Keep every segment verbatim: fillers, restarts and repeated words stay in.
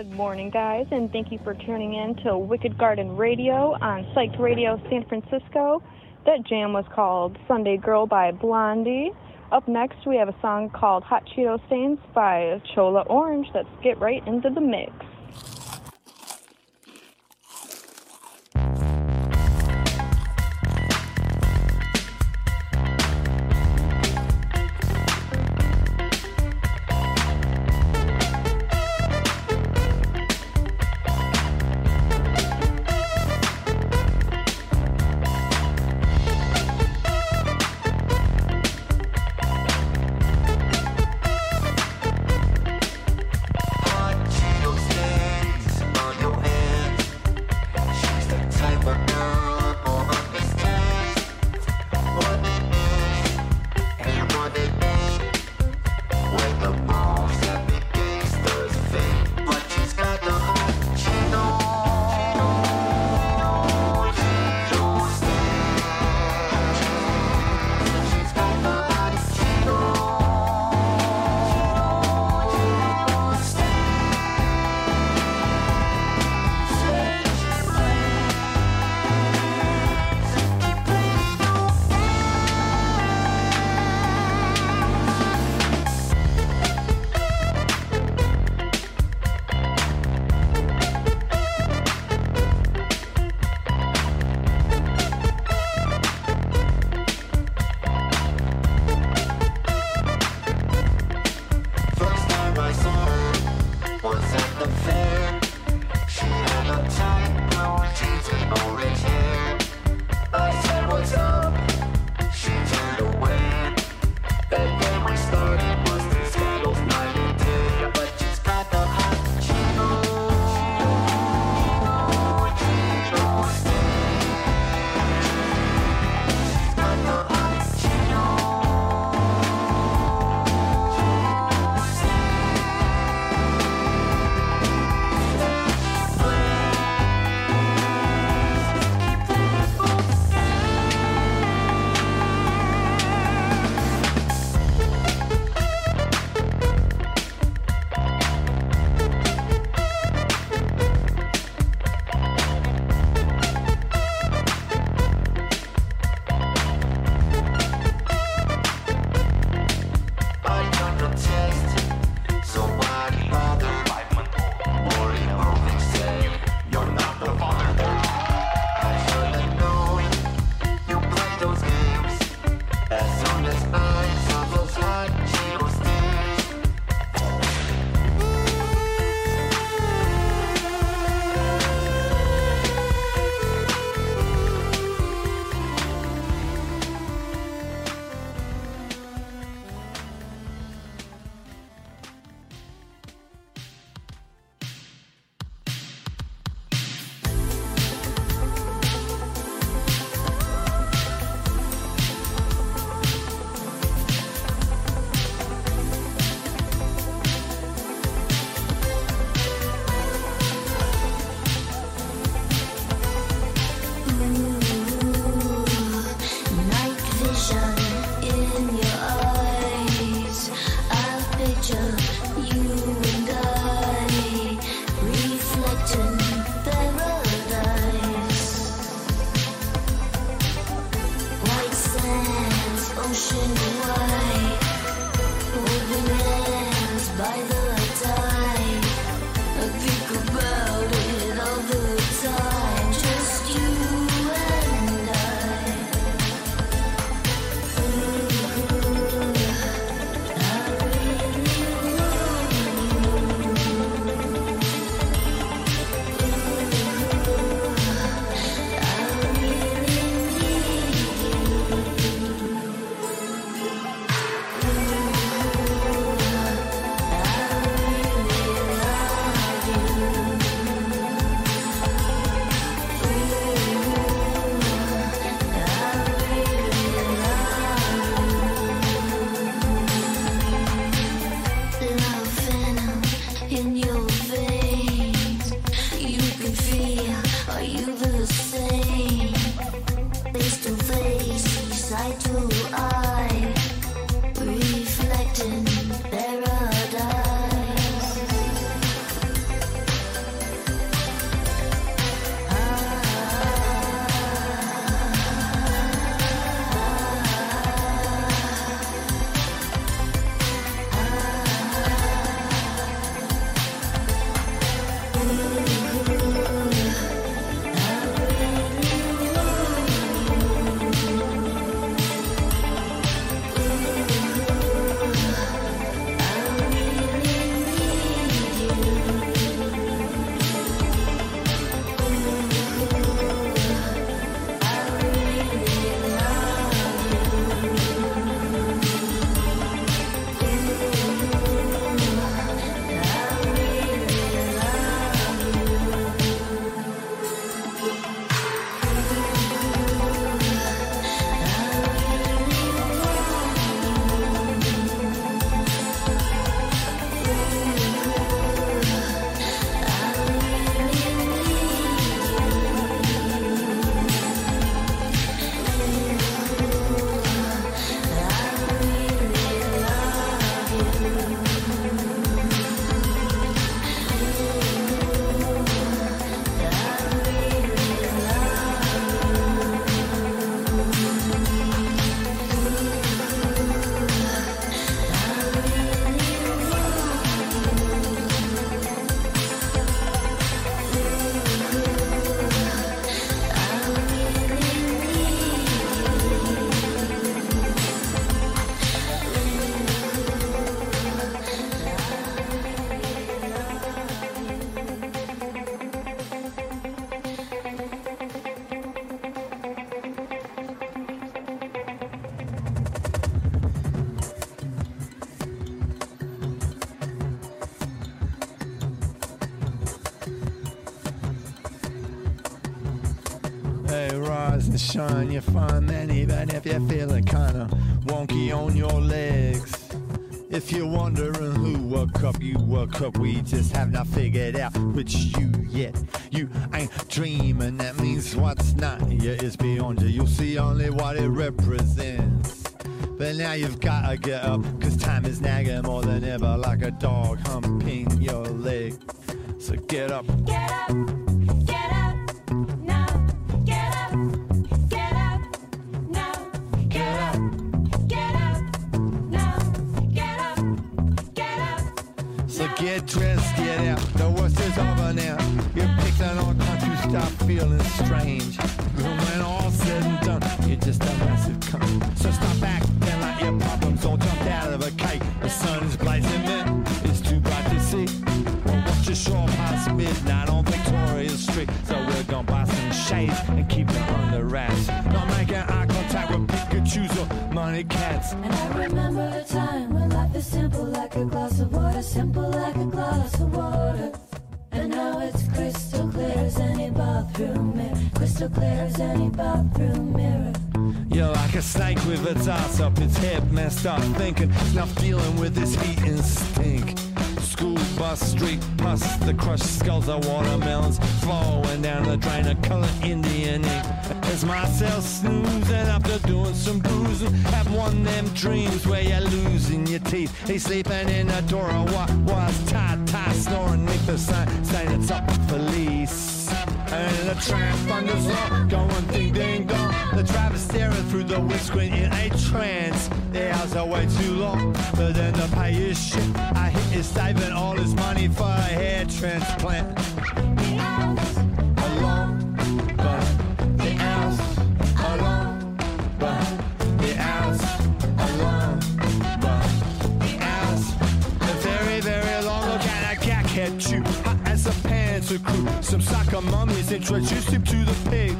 Good morning, guys, and thank you for tuning in to Wicked Garden Radio on Psyched Radio San Francisco. That jam was called Sunday Girl by Blondie. Up next, we have a song called Hot Cheeto Stains by Chola Orange. Let's get right into the mix. rise and shine. You find that even if you're feeling kinda wonky on your legs. If you're wondering who woke up, you woke up. We just have not figured out which you yet. You ain't dreaming, that means what's not here is beyond you. You'll see only what it represents. But now you've gotta get up, cause time is nagging more than ever, like a dog humping your leg. So get up. Get up, get up, now. Get up, get up, now. Get up, get up, now. Get up, get up. So get dressed, get out. The worst is over now. You're picking on country, you start feeling strange. And when all's said and done, you're just a massive cunt. So stop acting like your problems all jumped out of a cake. The sun is blazing, man. It's too bright to see. Well, watch your shore past midnight on Victoria Street. So we're gonna buy some shades and keep it under wraps. Not making eye contact with Pikachus or money cats. And I remember a time when life is simple like a glass of water, simple like a glass of water. And now it's crystal clear as any bathroom mirror, crystal clear as any bathroom mirror. You're like a snake with its ass up, its head messed up, thinking it's not dealing with this heat and stink. School bus, street pus, the crushed skulls of watermelons flowing down the drain of colored Indian ink. As Marcel snoozing after doing some bruising, have one of them dreams where you're losing your teeth. He's sleeping in a door of what was tight, tight, snoring neath the sign, saying it's up to police. And the tram thunders on, going ding ding dong. The driver's staring through the windscreen in a trance. The hours are way too long, but then the pay is shit. I hit is saving all his money for a hair transplant. The hours are long, but the hours are long, but the hours are long, but the hours are very, very long. Look at that cackhead chew, hot as a panther crew. Some sucker mummies introduced him to the pig.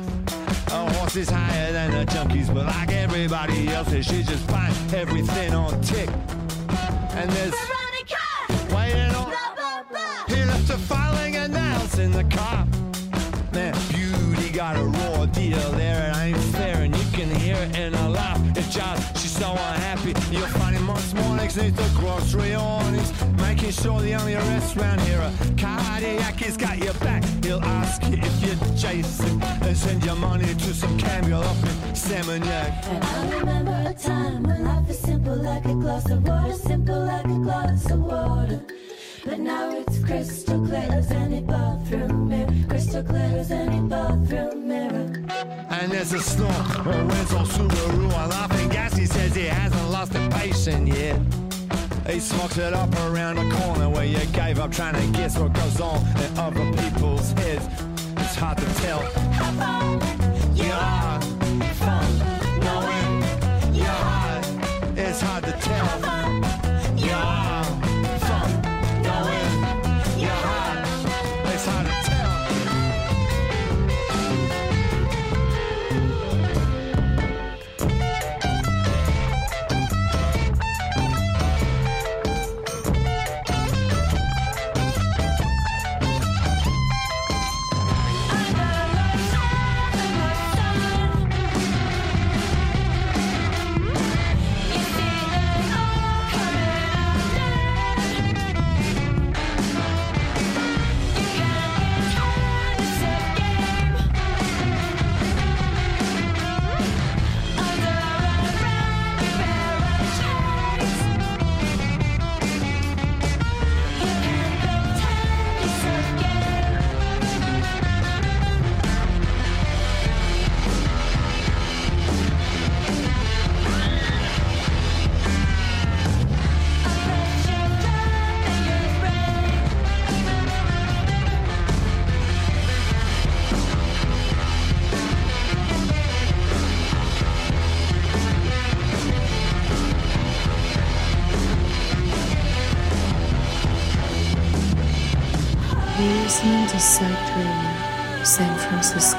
A horse is higher than the junkies, but like everybody else, she just finds everything on tick. And there's Veronica waiting on. Blah, blah, blah. He left her filing her nails in the car. Man, beauty got a raw deal there. It ain't fair, and you can hear it in her laugh. If Giles, she's so unhappy. You'll find him most mornings neath the grocery awnings, making sure the only arrests round here are cardiac. He's got your back. He'll ask you if you're Jason and send your money to some cameo up in Seminyak. And I remember a time when life is simple like a glass of water, simple like a glass of water. But now it's crystal clear as any bathroom mirror, crystal clear as any bathroom mirror. And there's a snort, a rental Subaru, a laughing gas. He says he hasn't lost a patient yet. He smokes it up around the corner where you gave up trying to guess what goes on in other people's heads. It's hard to tell How far you are from knowing your heart. It's hard to tell you are from knowing your heart. It's hard to tell. You're listening to Psyched Radio, San Francisco.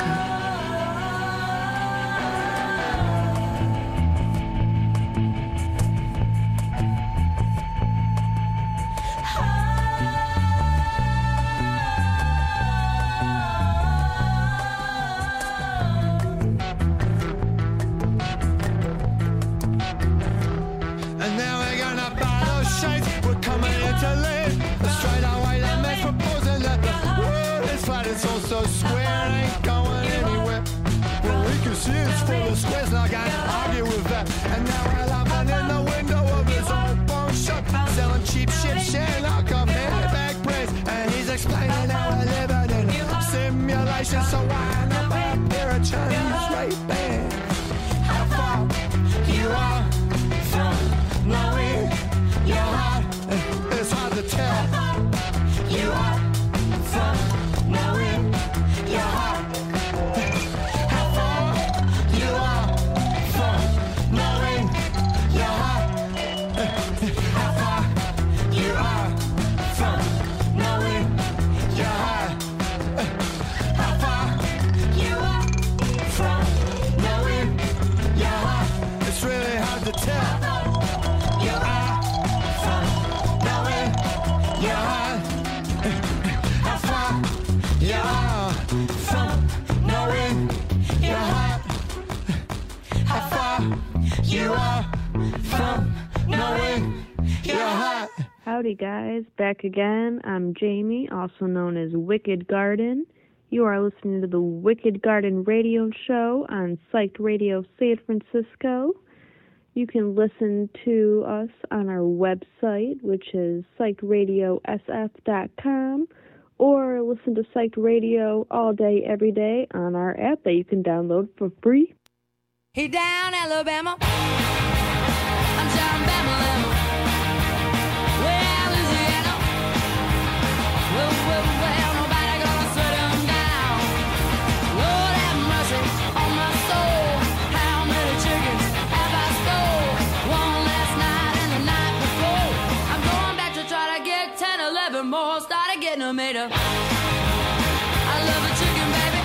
shoes full of squares, and I can't argue with that. And now we're laughing in the window of his old pawn shop, selling cheap shit, sharing our cup, handbag praise. And he's explaining how we're living in simulation. So wind up a pair of Chinese Ray-Bans. How far you are from knowing your heart, it's hard to tell. You are from knowing your heart. How far you are from knowing your heart. How far you are from knowing your heart. How far you are from knowing your heart. It's really hard to tell. You are from knowing your heart. How far you are from knowing your heart. How far you are from knowing your heart. Howdy guys, back again. I'm Jamie, also known as Wicked Garden. You are listening to the Wicked Garden Radio Show on Psyched Radio San Francisco. You can listen to us on our website, which is psyched radio s f dot com, or listen to Psyched Radio all day, every day on our app that you can download for free. He down Alabama, I'm down Bama, well, Louisiana, well, well, well, nobody gonna set him down. Lord have mercy on my soul, how many chickens have I stole? One last night and the night before. I'm going back to try to get ten, eleven more, started getting them made up. I love a chicken, baby.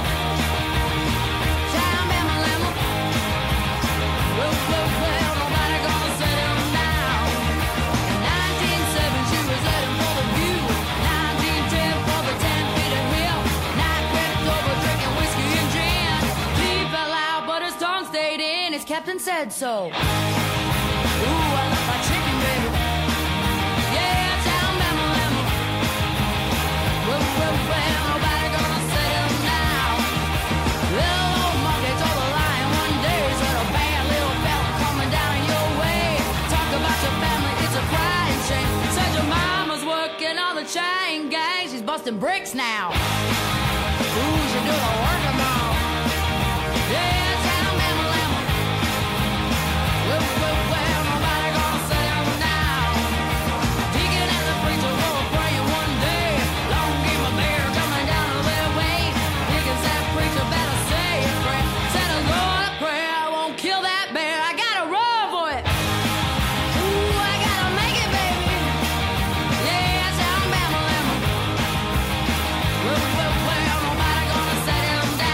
Down Bama, Lama. Well, well, well, nobody gonna set him down. In nineteen seven, she was heading for the view. nineteen ten for the ten feet of hill. Night crept over, drinking whiskey and gin. He fell out, but his tongue stayed in. His captain said so. Ooh, I love my chicken, baby. Yeah, down Bama, Lama. Well, well, well, nobody gonna set him down. Little old monkey told the lion one day, said a bad little fella coming down your way. Talk about your family, it's a crying shame. Said your mama's working on the chain gang, she's busting bricks now. Ooh, she do the work of all. Yeah, down Bama, Lama. Well, well, well, nobody gonna set him down. Deacon and the preacher were praying one day. Long game of bear coming down their way. Deacon said, preacher better say a prayer. Said a Lord of prayer, I won't kill that bear. I gotta run for it. Ooh, I gotta make it, baby. Yeah, down Bama, Lama. Well, well, well, nobody gonna set him down.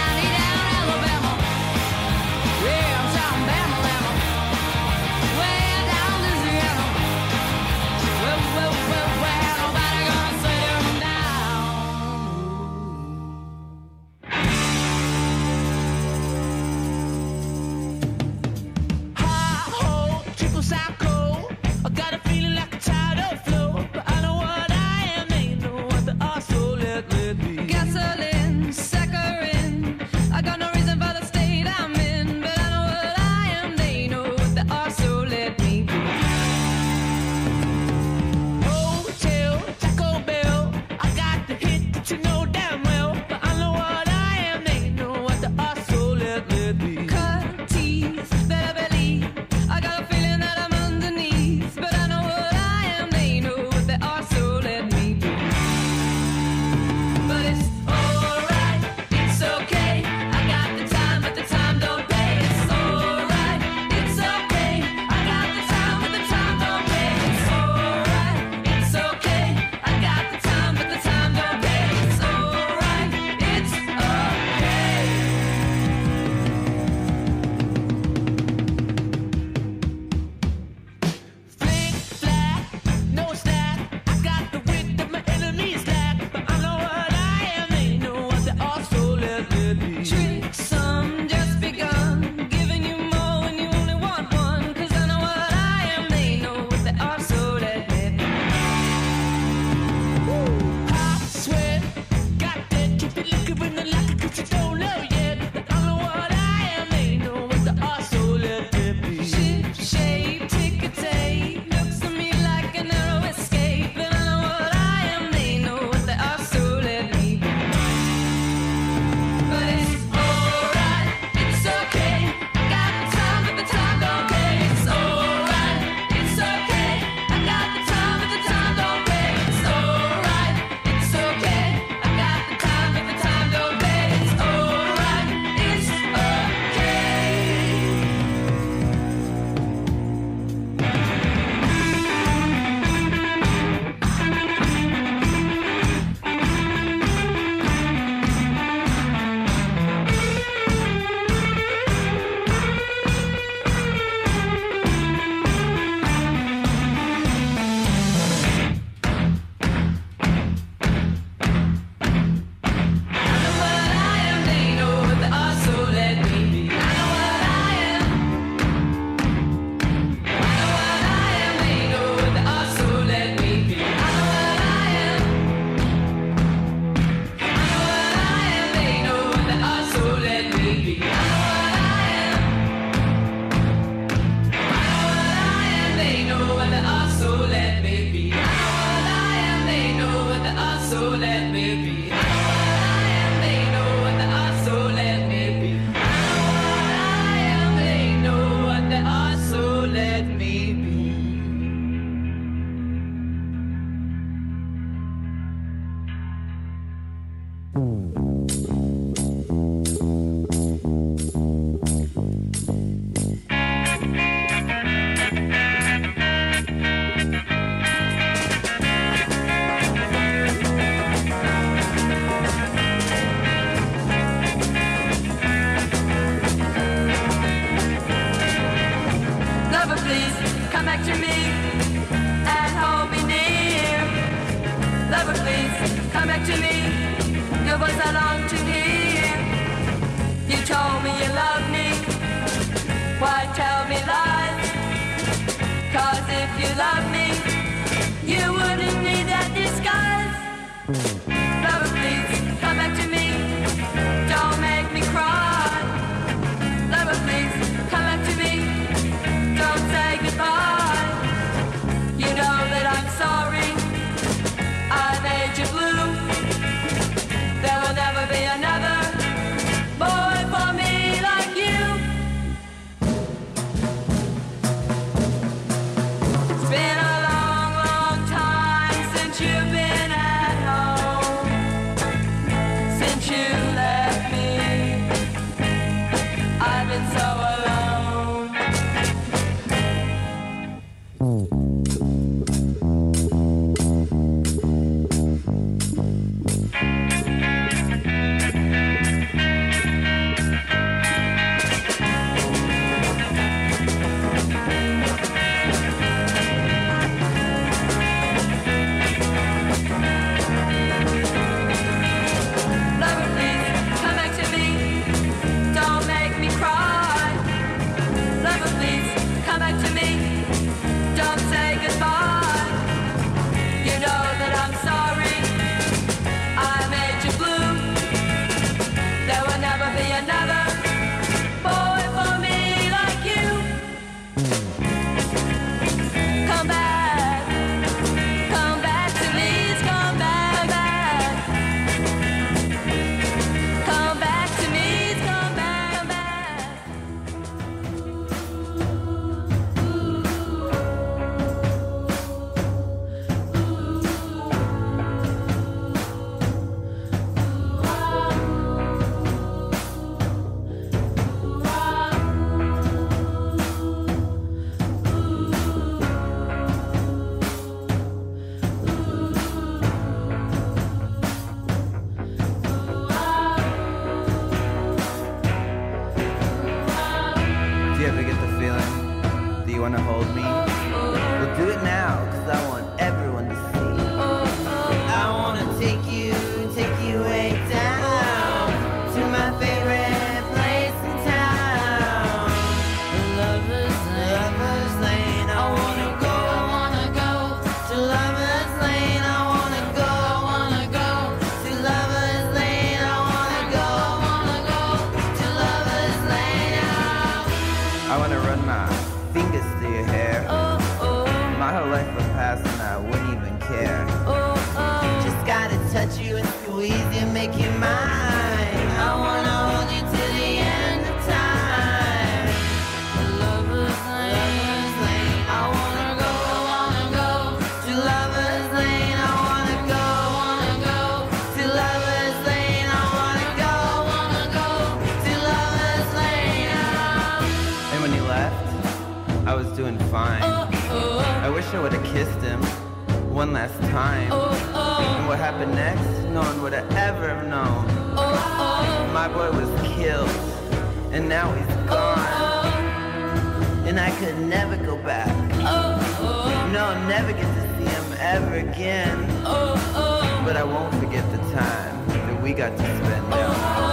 feeling? Do you wanna hold me? We'll do it now, cause I want everyone to see. I wanna take you, take you way down to my favorite place in town. Lover's Lane, Lover's Lane. I wanna go, I wanna go to Lover's Lane. I wanna go, I wanna go to Lover's Lane. I wanna go, I wanna go to Lover's Lane. I wanna run my fingers through your hair. My whole life would pass and I wouldn't even care. Just gotta touch you and squeeze you, make you mine. I wanna hold you till the end of time. Lover's Lane, I wanna go, I wanna go to Lover's Lane. I wanna go, wanna go to Lover's Lane. I wanna go, wanna go to Lover's Lane. And when you left, I was doing fine. I wish I would've kissed him one last time. And what happened next, no one would've ever known. My boy was killed, and now he's gone. And I could never go back. No, I'll never get to see him ever again. But I won't forget the time that we got to spend down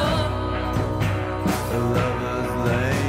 the Lover's Lane.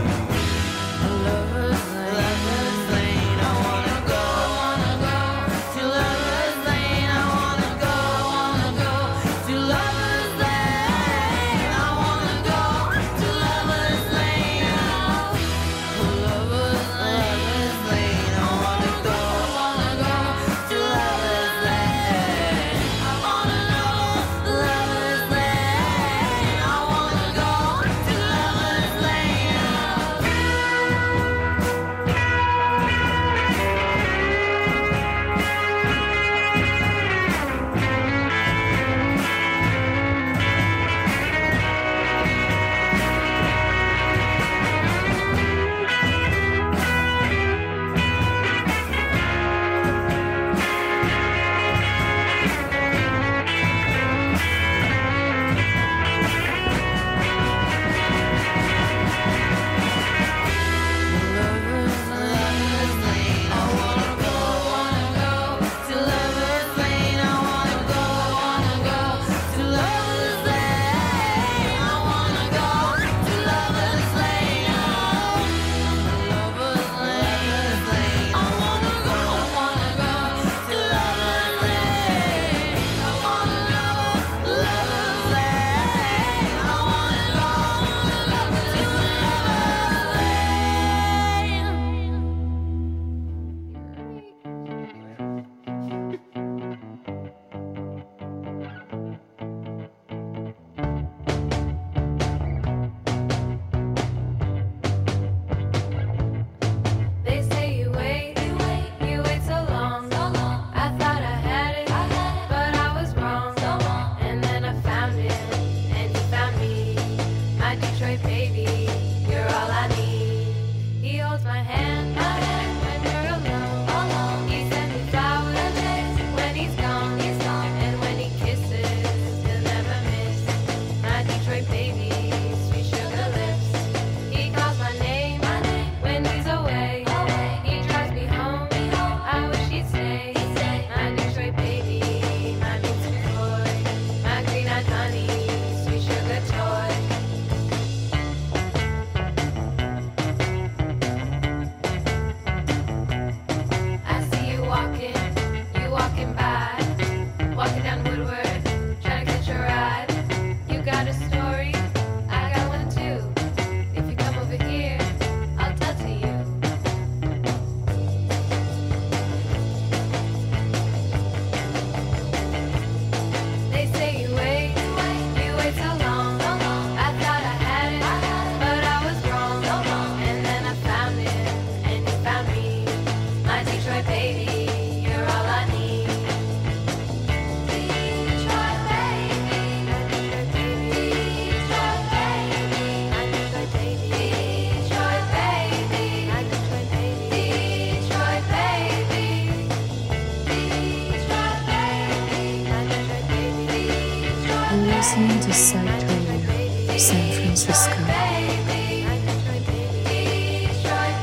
listening to Psych Radio, San Francisco.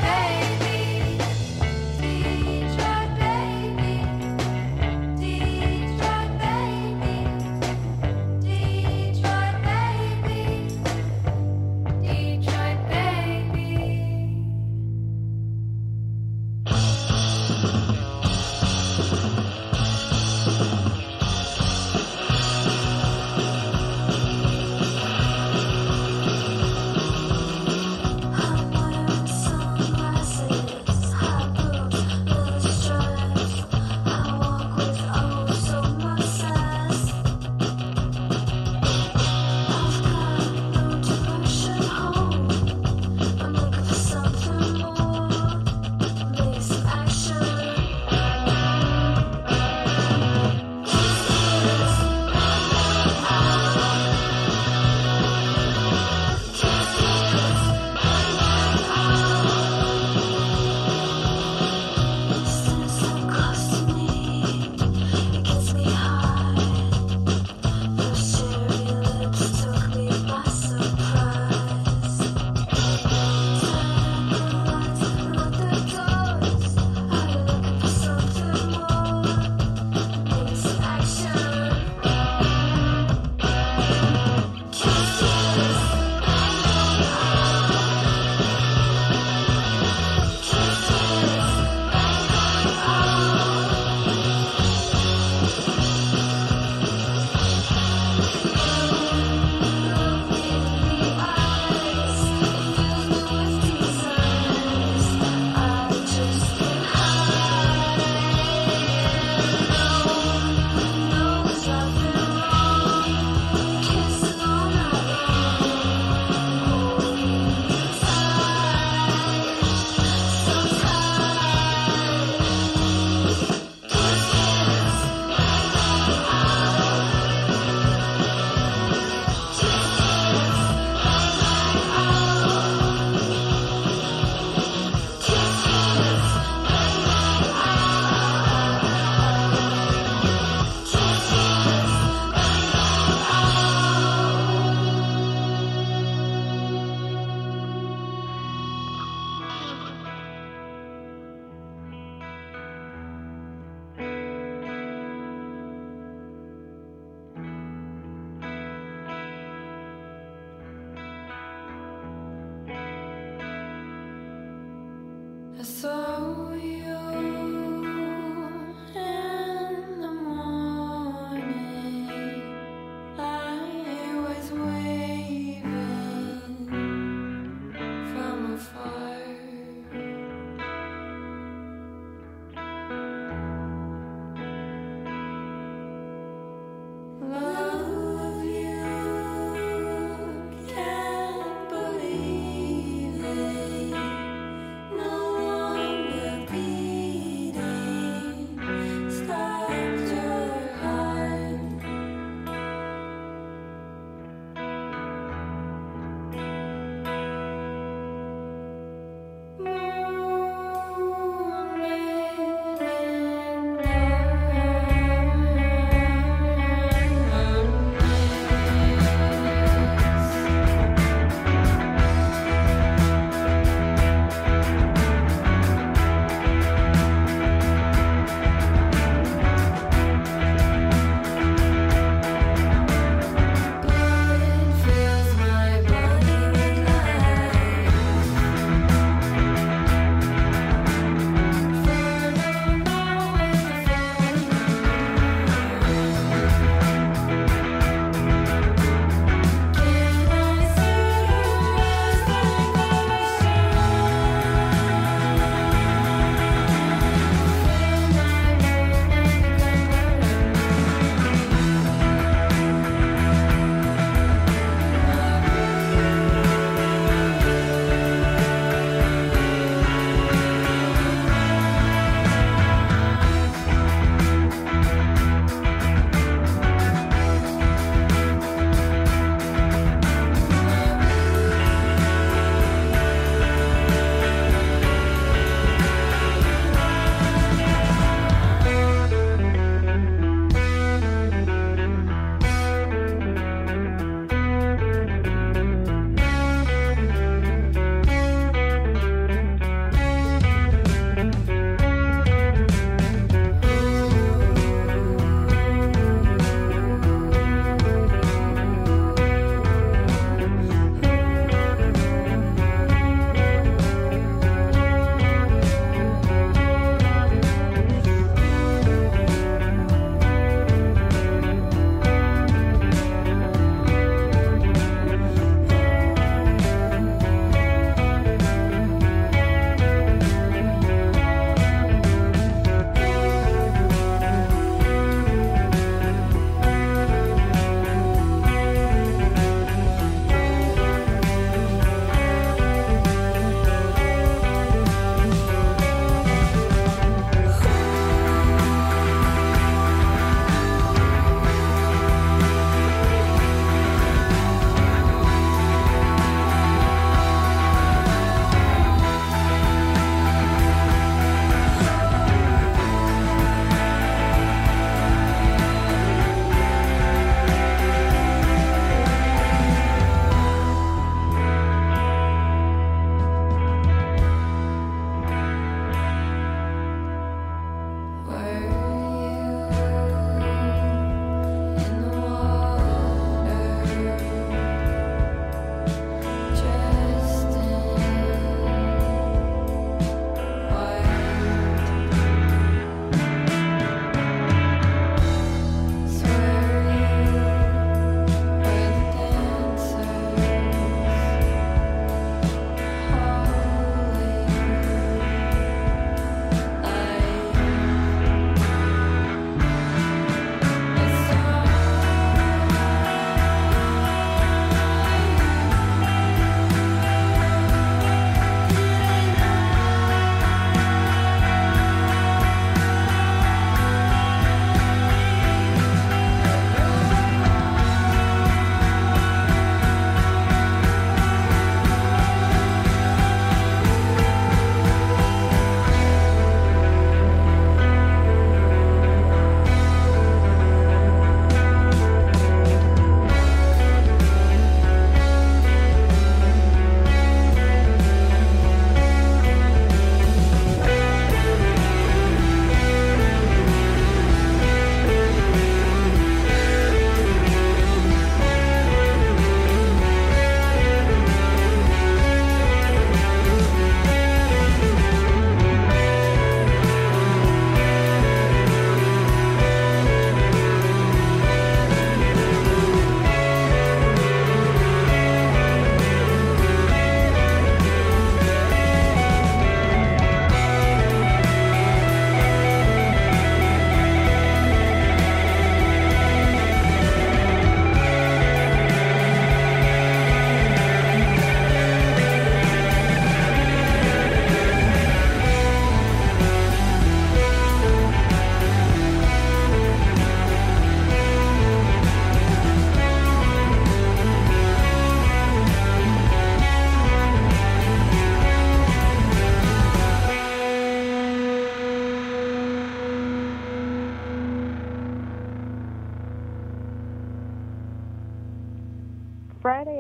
saw you in the morning. I was waving from afar. Love you, can't believe it. No longer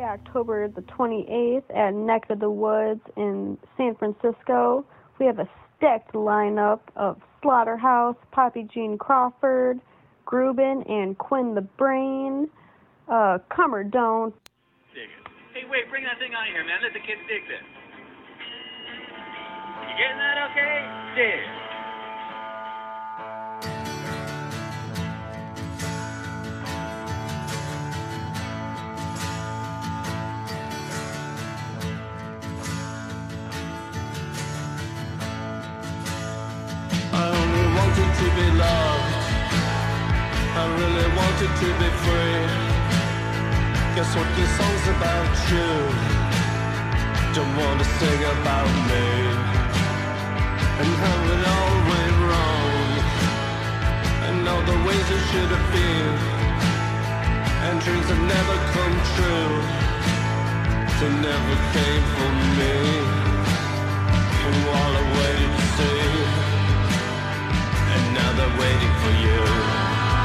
October the twenty-eighth at Neck of the Woods in San Francisco. We have a stacked lineup of Slaughterhouse, Poppy Jean Crawford, Grubin, and Quinn the Brain. Uh, come or don't. Dig it. Hey, wait, bring that thing on here, man. Let the kids dig this. You getting that okay? Dig. I only wanted to be loved. I really wanted to be free. Guess what this song's about you? Don't want to sing about me and how it all went wrong, and all the ways it should have been, and dreams that never come true. They never came for me, and while I waited to see, and now they're waiting for you.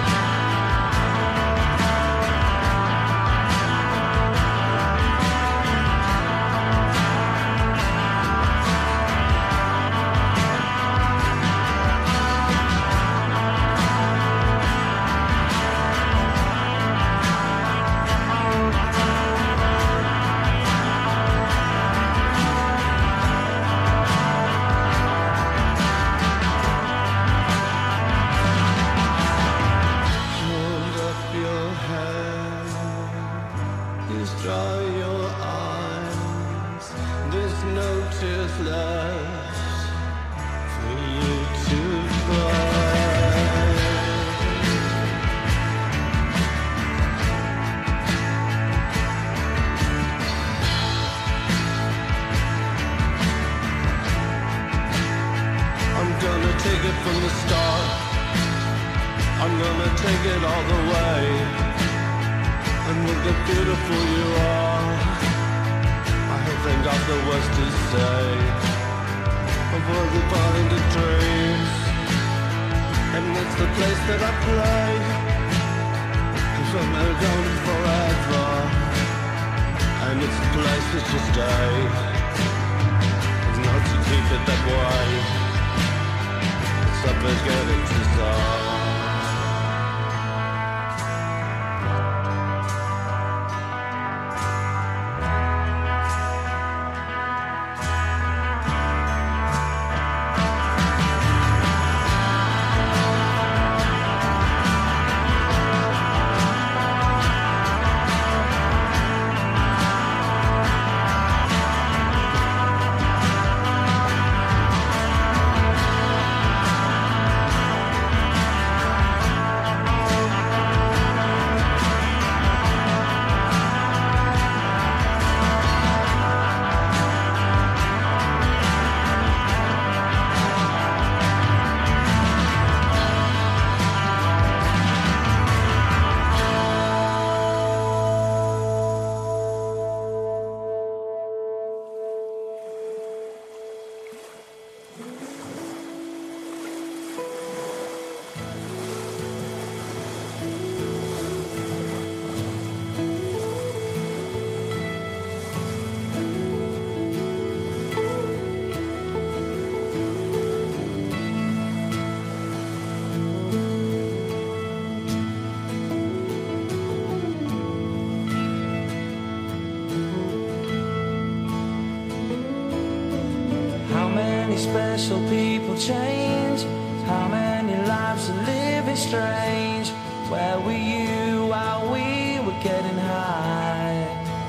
Special people change. How many lives are living strange? Where were you while we were getting high?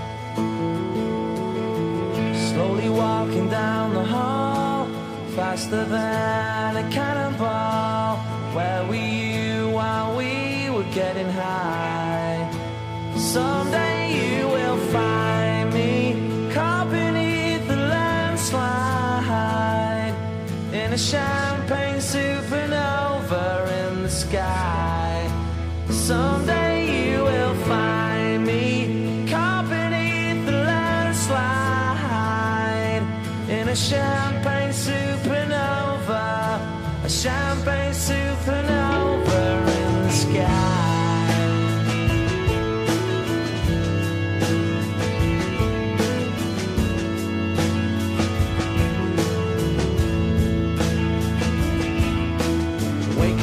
Slowly walking down the hall, faster than a cannonball. Where were you while we were getting high? Someday you will find me caught beneath the landslide, in a champagne supernova in the sky. Someday you will find me caught beneath the landslide, in a champagne supernova, a champagne supernova in the sky.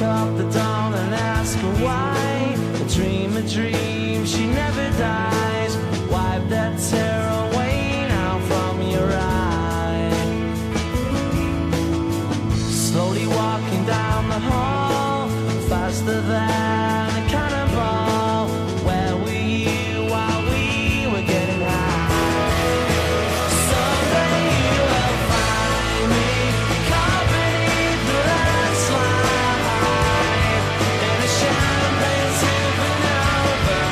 up the dawn and ask her why. A dream, a dream, she never dies. Wipe that tear away now from your eye. Slowly walking down the hall, faster than a cannonball. Where were you while we were getting high? Someday you will find me caught beneath the landslide in a champagne sipping over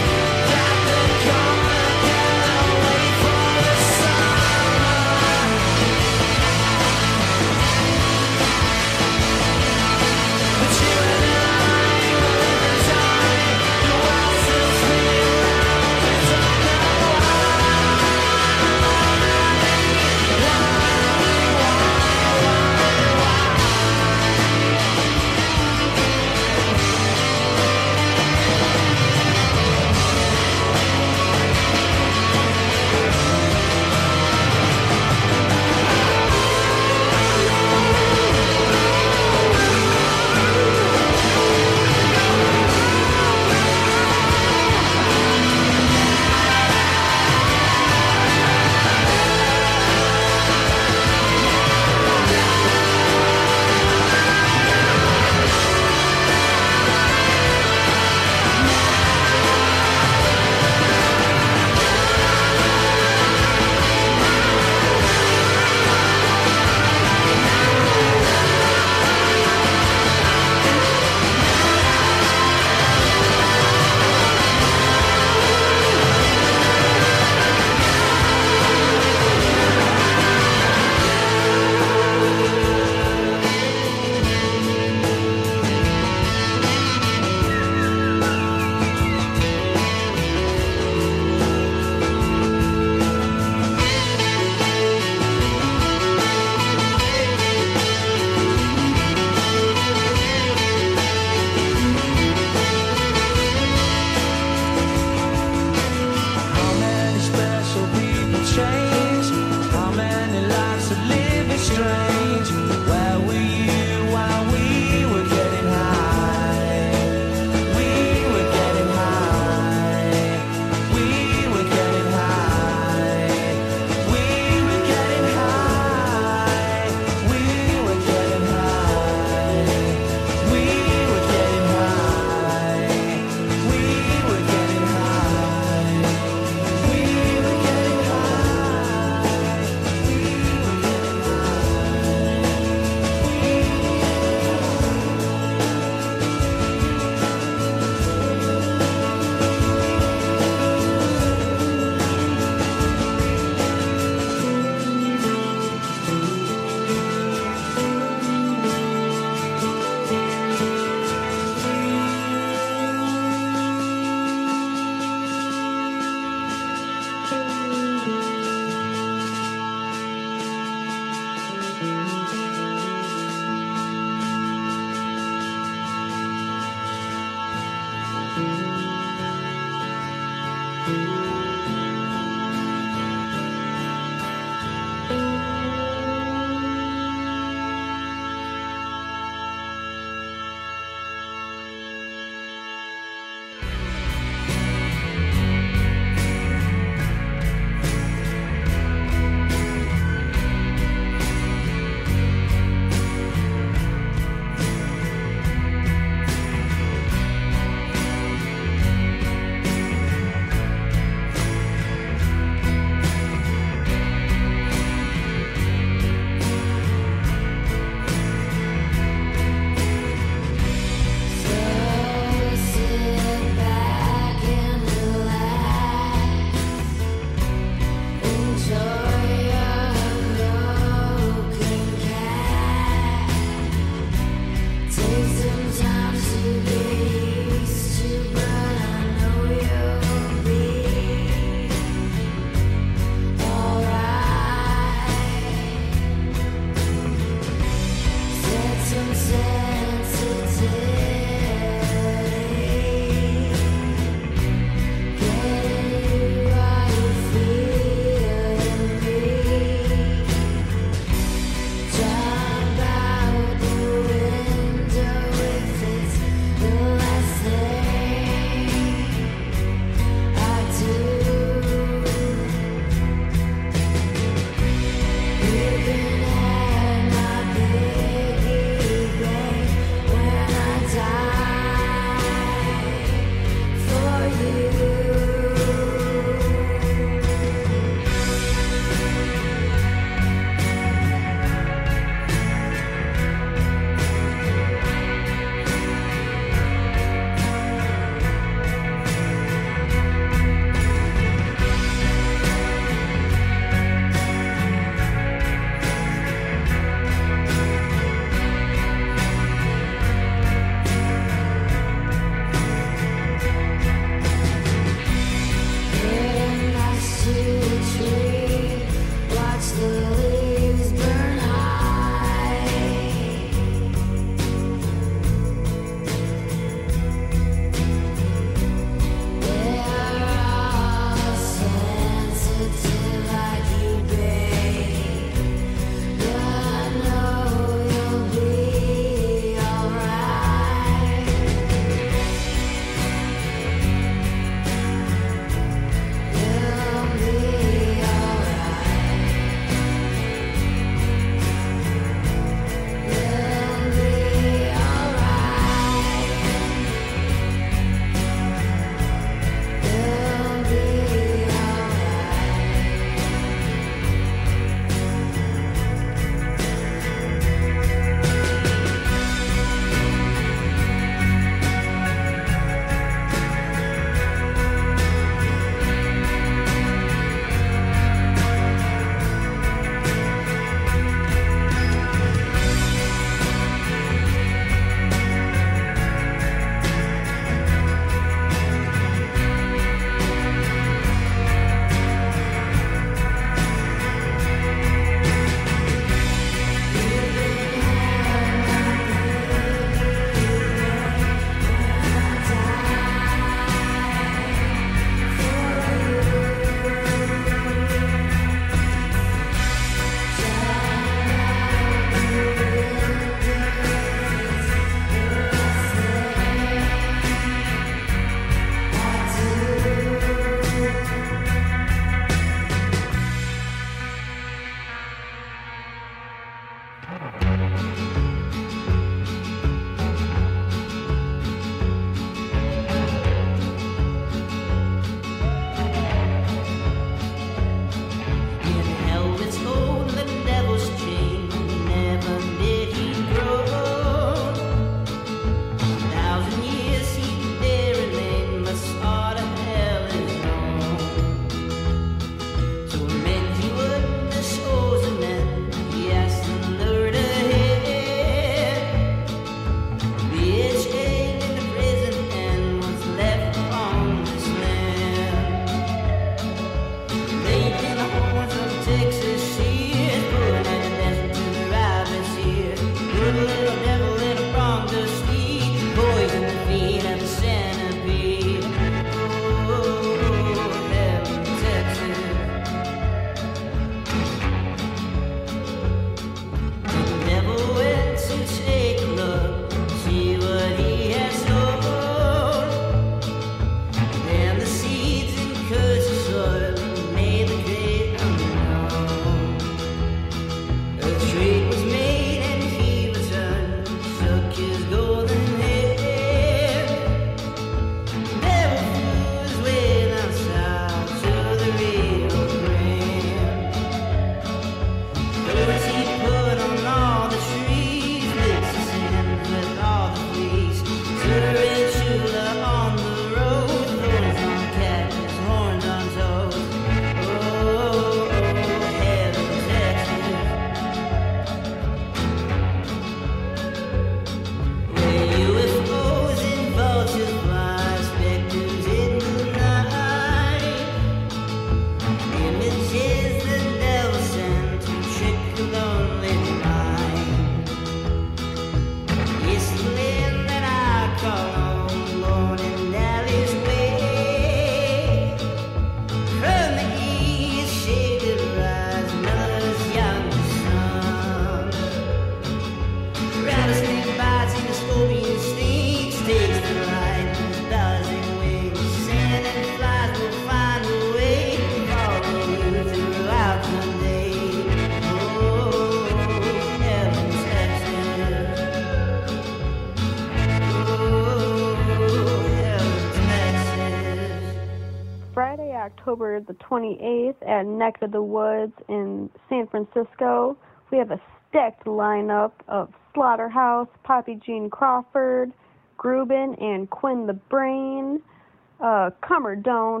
October the twenty-eighth at Neck of the Woods in San Francisco. We have a stacked lineup of Slaughterhouse, Poppy Jean Crawford, Grubin, and Quinn the Brain. Uh, come or don't.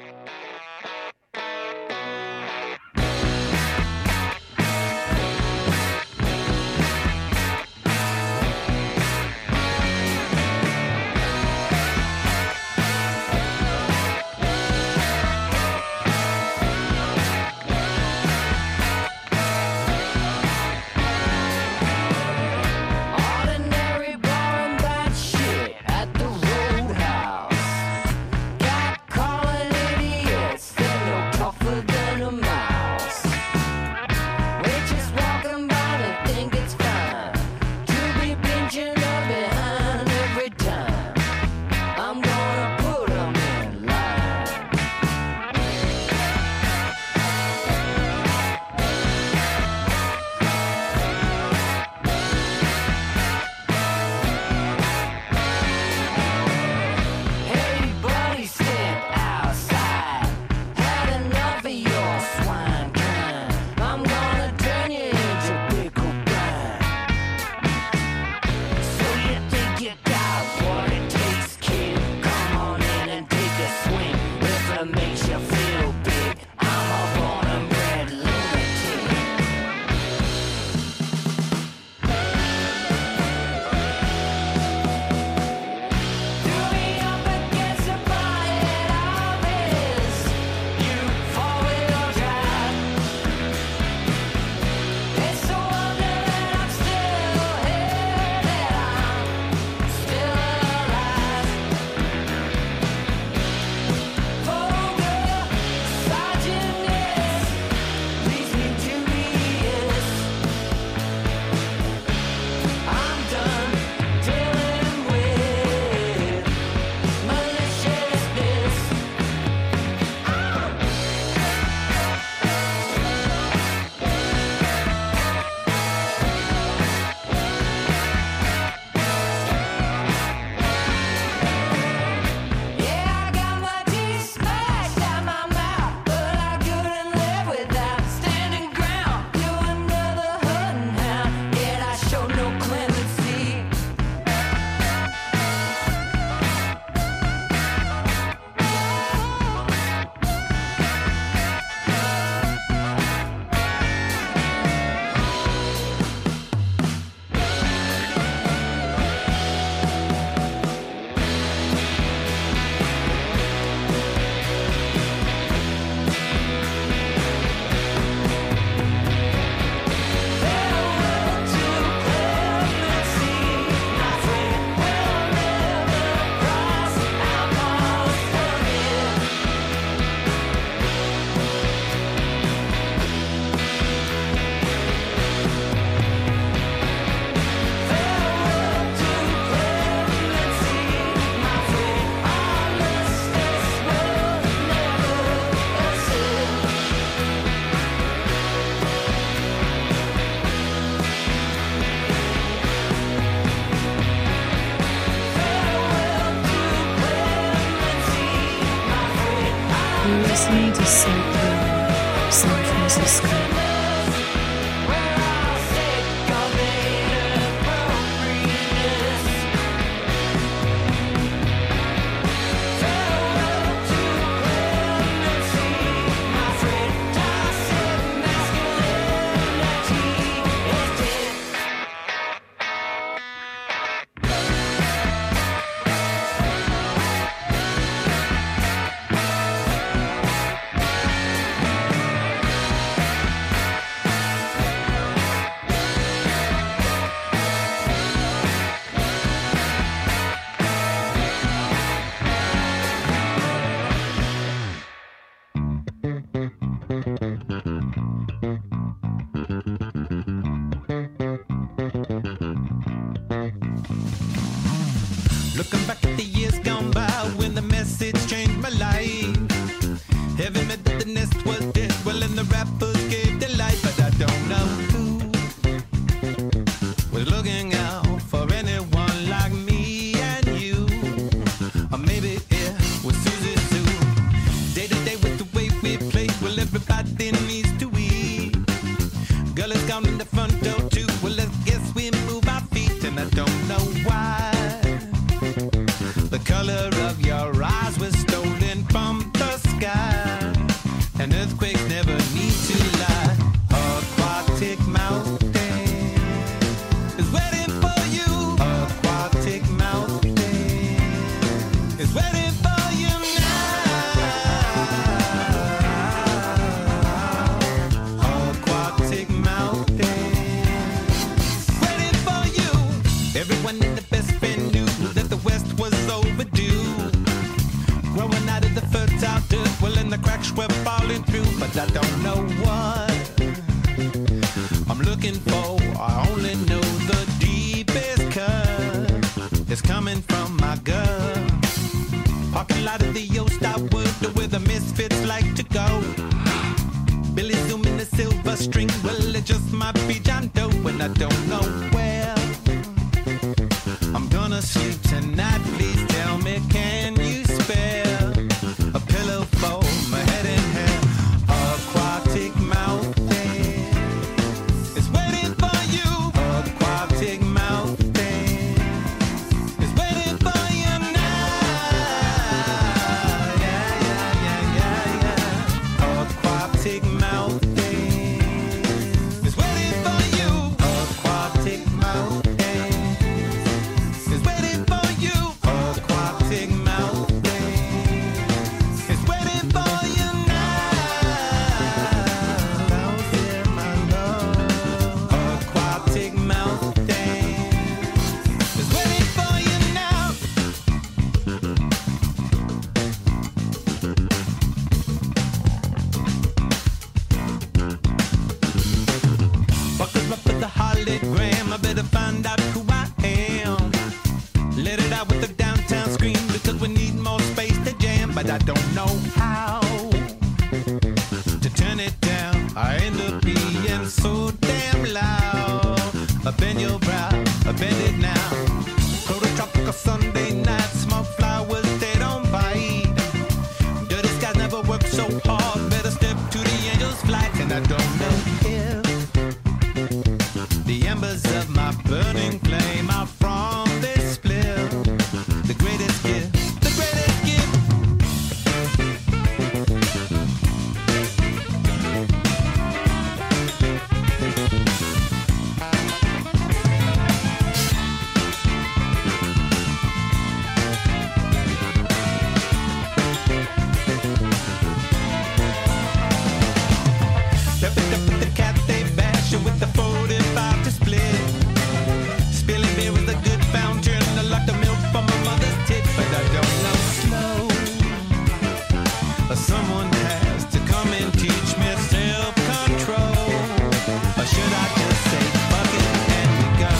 Ordinary, boring, bad shit at the Roadhouse. Got calling idiots, they're no tougher than a mouse. We're just walking by and think it's fine to be pinching up behind every time. I'm gonna put 'em in line. Hey buddy, step outside. Had enough of your swine kind. I'm gonna turn you into pickle brine. So you think you got what it takes, kid? Come on in and take a swing. If it makes you feel big, I'm a born and bred lunatic. Threw me up against the bonnet of his new four-wheel drive. It's a wonder that I'm still here, that I'm still alive. Vulgar misogynist leads me to this. I'm done dealing with maliciousness. Yeah, I got my teeth smashed out my mouth, but I couldn't live without standing ground. You're another hunting hound, yet I show no clemency. Farewell to clemency, my friend will never cross our paths again. Farewell to clemency, my friend. Honestus will never ascend. Farewell to clemency, my friend. You're listening to Psych Radio, San Francisco. We're all sick of inappropriateness. Farewell to clemency, my friend. Toxic masculinity is dead. down in the front door too. Well, I guess we move our feet, and I don't know why. The color of your eyes was stolen from the sky, and earthquakes never need to lie. Aquatic mountain is waiting for you. Aquatic mountain is waiting for you now. Aquatic mountain waiting for you. Everyone in the best friend knew that the West was overdue. Growing out of the fertile dirt, well, and the cracks were falling through, but I don't know what I'm looking for. I only know the deepest cut is coming from my gut. Parking lot of the old Starwood, where the misfits like to go. Billy Zoom in the silver string, well, it just might be John Doe, and I don't know where I'm gonna sleep tonight. Please tell me, can you spare a pillow for my head and hair? Aquatic mountain is waiting for you. Aquatic mountain is waiting for you now. Yeah, yeah, yeah, yeah, yeah. Aquatic mountain is waiting for you. Aquatic mountain is waiting for you. Aquatic mountain is waiting for you now. Down there, my love. Aquatic mountain is waiting for you now. Buckle up with the hologram. I better find out who I am. Let it out with the downtown scream, because we need more space to jam, but I don't know how to turn it down. I end up being so damn loud. I bend your brow, I bend it now. Prototropical Sunday night, smoke flowers, they don't bite. Dirty skies never work so hard. Better step to the angel's flight, and I don't know if the embers of my burning flame are from this split. The greatest gift, the greatest gift. Step it up with the cat, they bash it with the forty-five to split. Spilling beer is a good fountain. I like the milk from my mother's tit, but I don't know slow. Someone has to come and teach me self-control. Or should I just say fuck it and we go?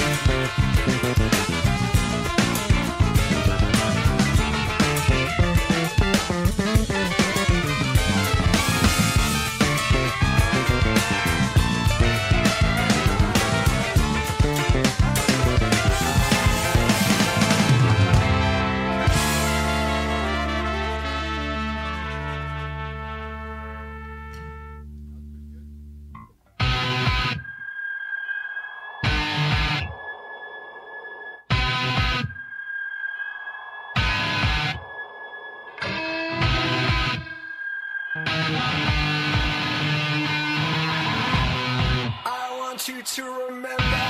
I want you to remember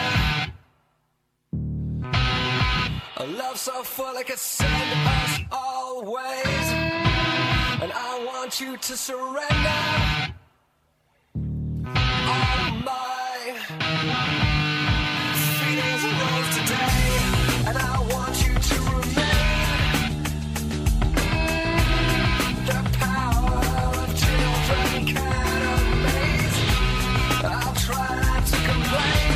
a love so full it could send us always. And I want you to surrender all my feelings rose today. And I want you to remain the power of children can amaze. I'll try not to complain.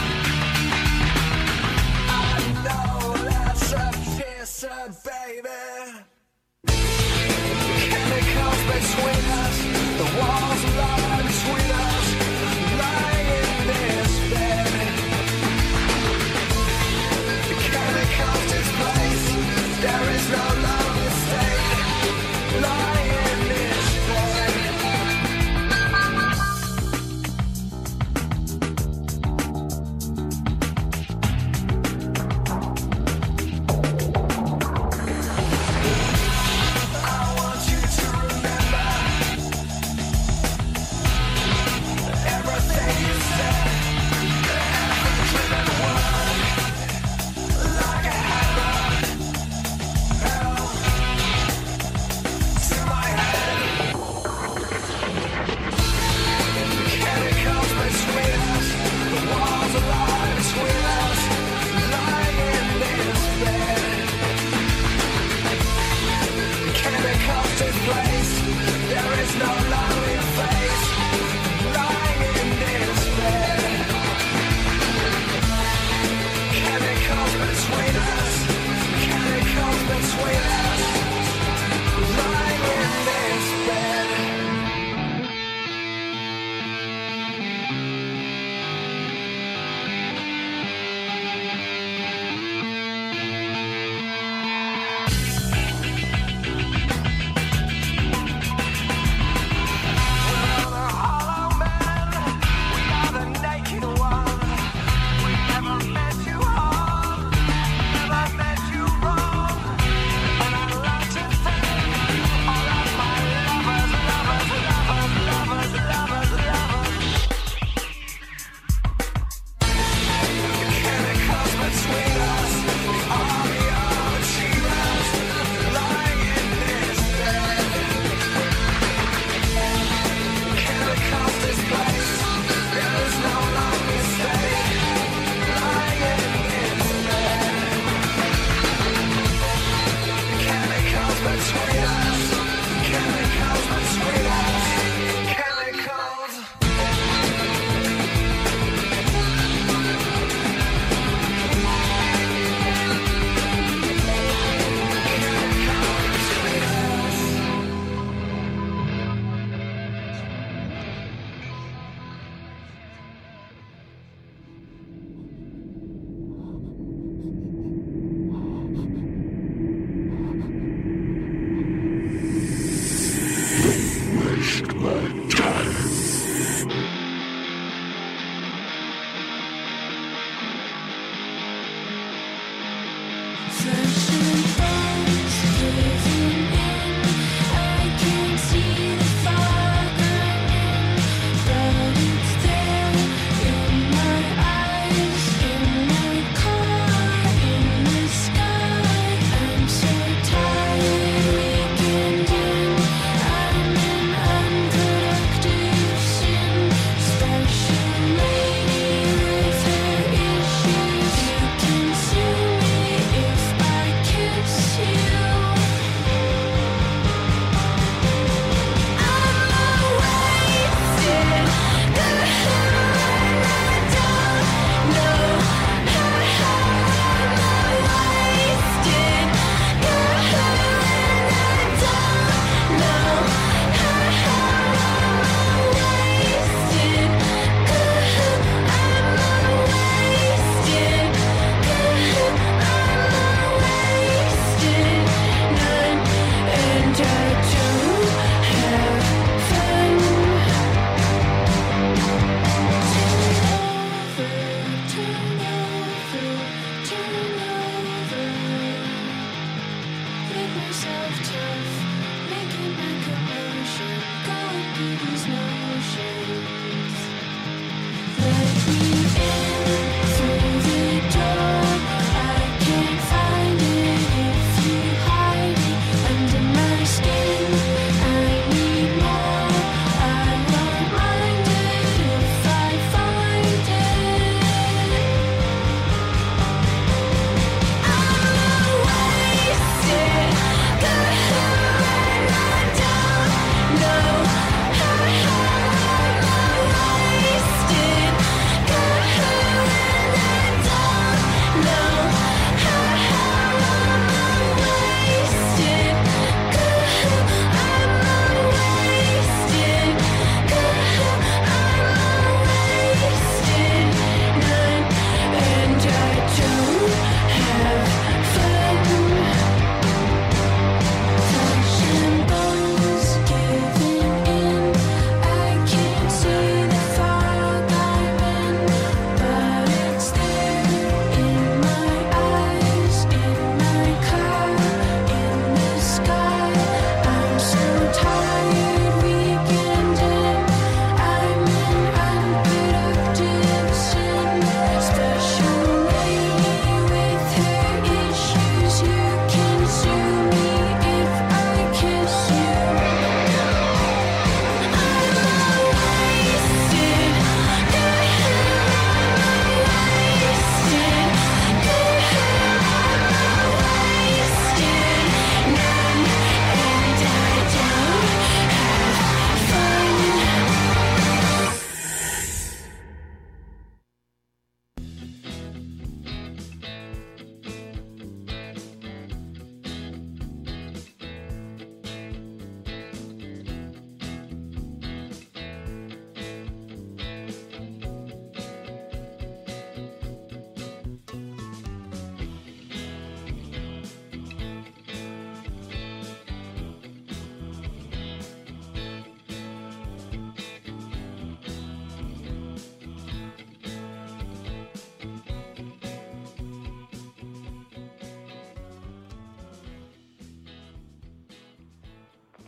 I know that's a kisser, baby. Chemicals between us, the walls lie between us, lying in this bed.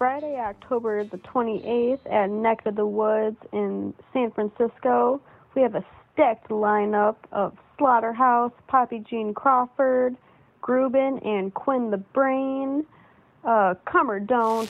Friday, October the twenty-eighth at Neck of the Woods in San Francisco. We have a stacked lineup of Slaughterhouse, Poppy Jean Crawford, Grubin, and Quinn the Brain. Uh, come or don't.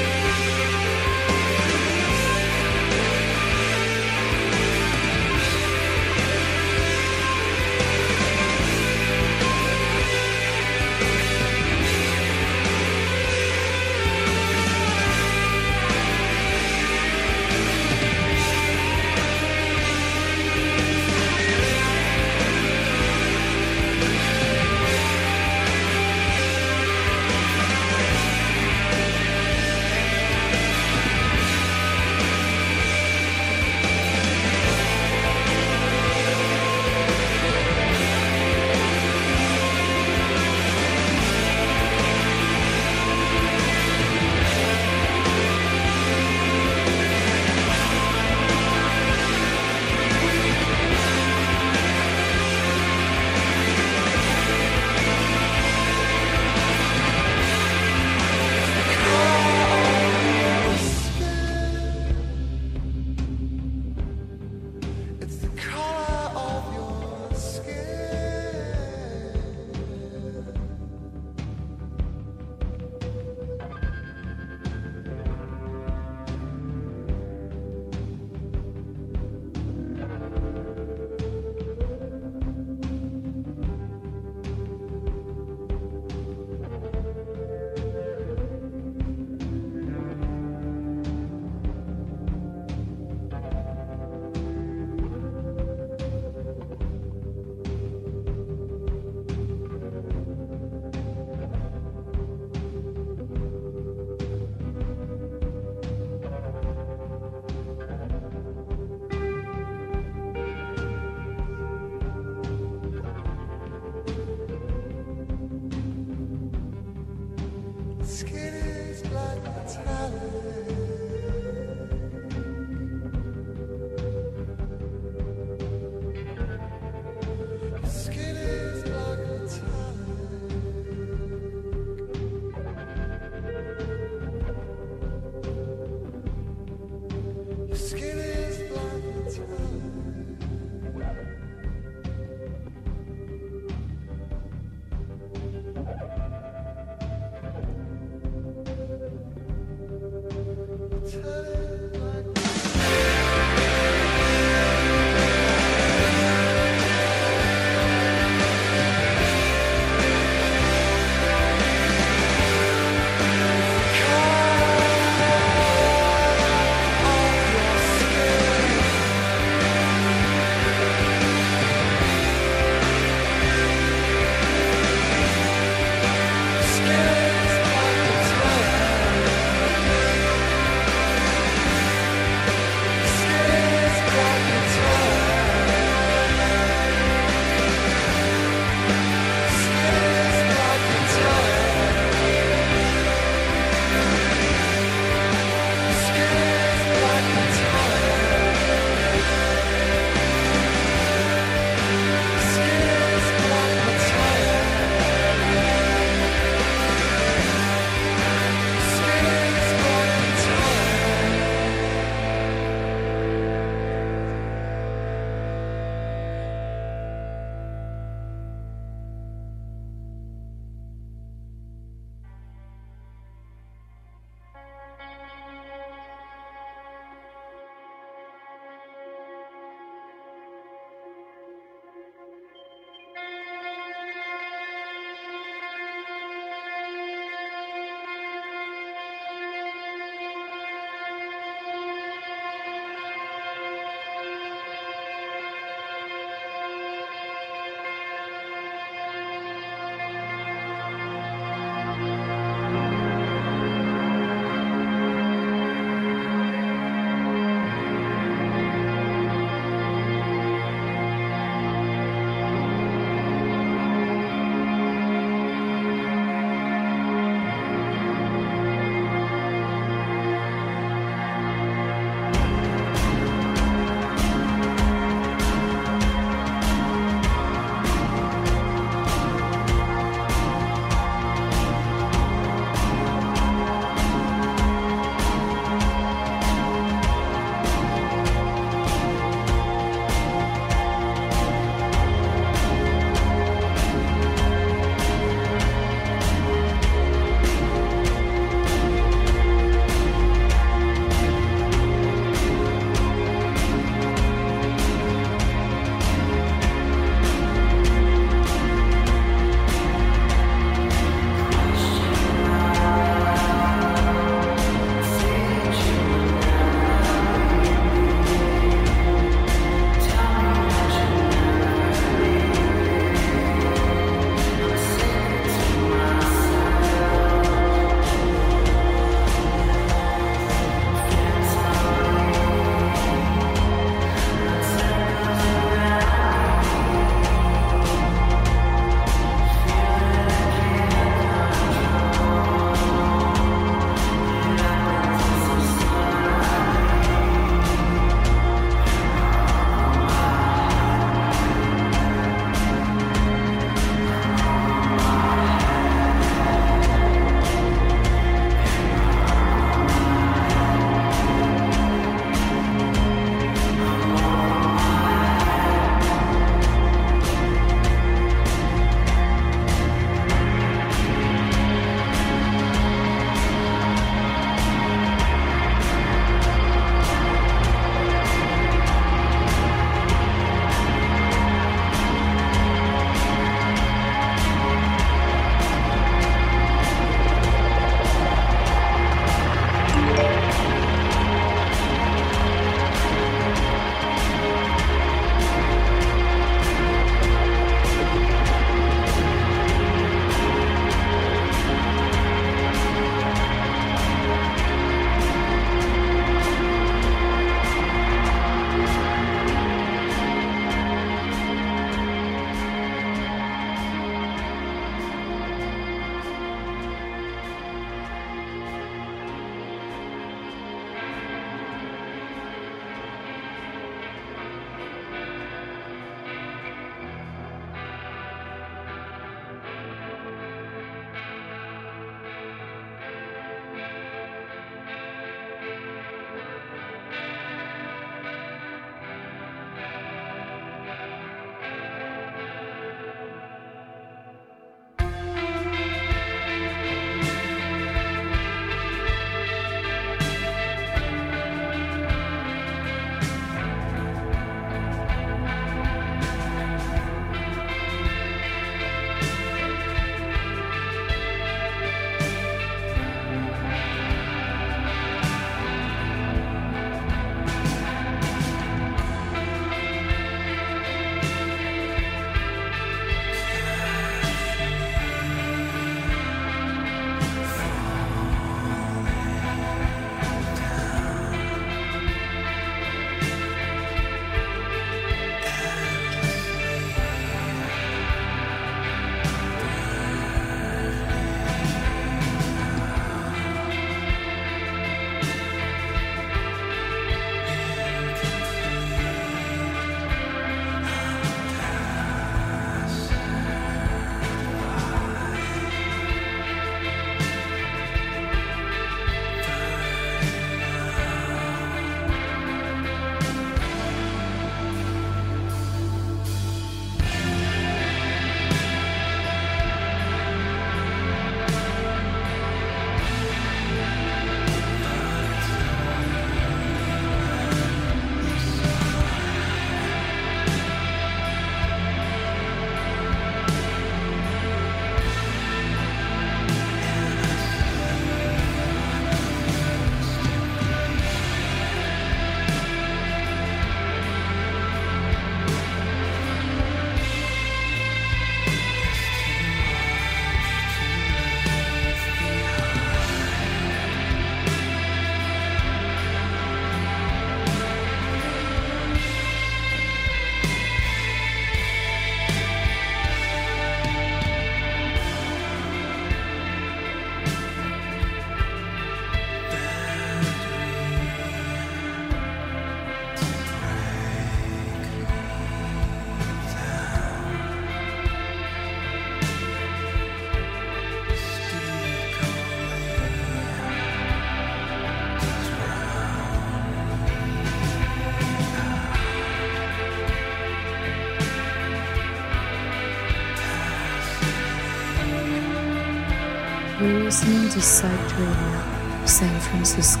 listening to Psyched Radio, San Francisco.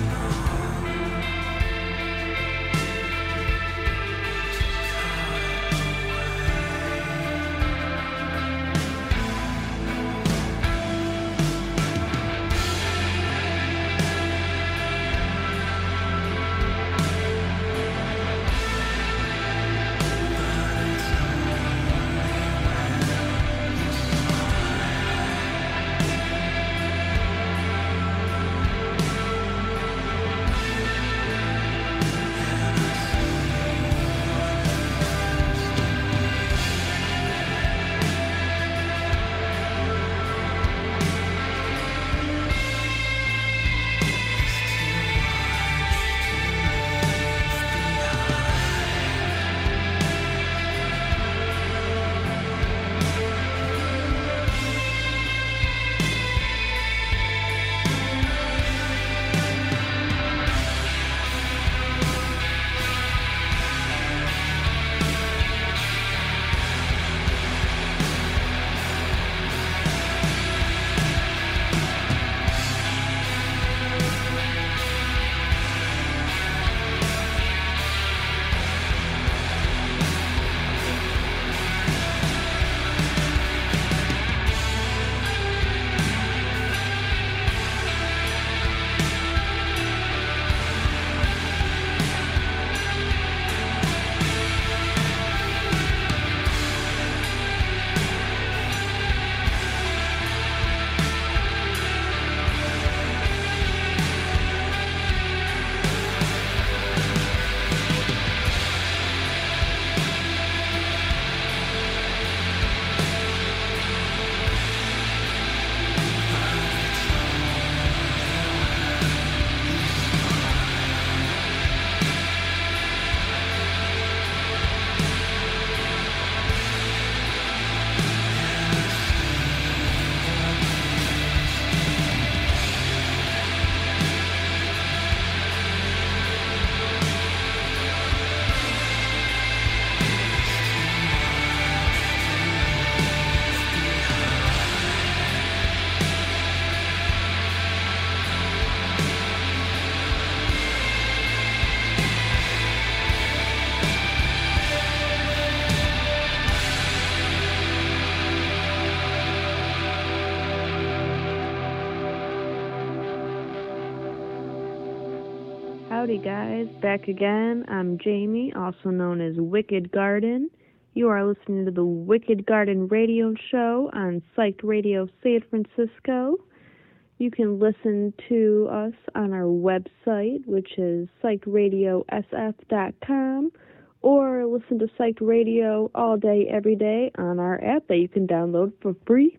Howdy guys, back again. I'm Jamie, also known as Wicked Garden. You are listening to the Wicked Garden radio show on Psyched Radio San Francisco. You can listen to us on our website, which is psyched radio s f dot com, or listen to Psyched Radio all day, every day on our app that you can download for free.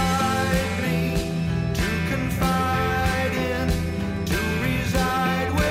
Confide in, to reside with.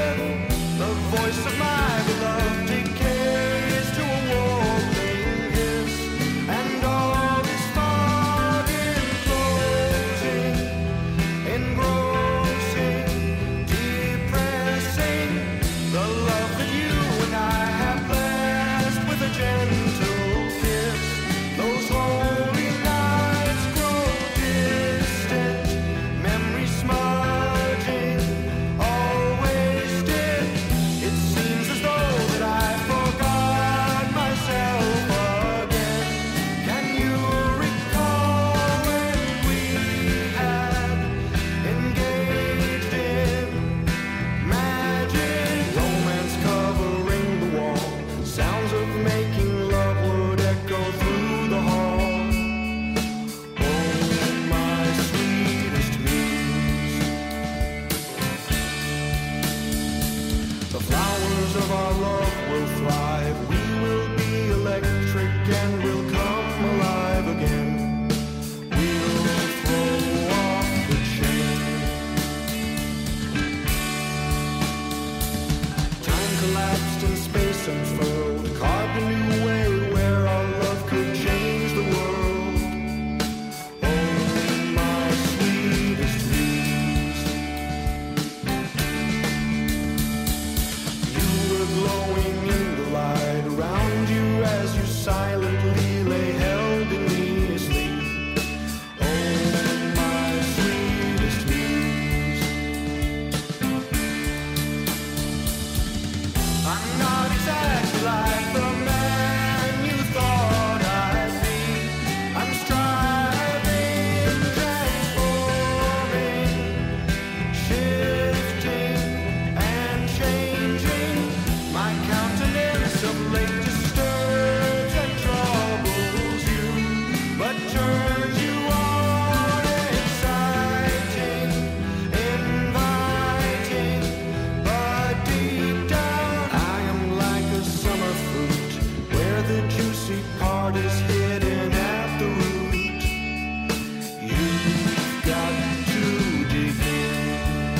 heart is hidden at the root. You've got to dig in.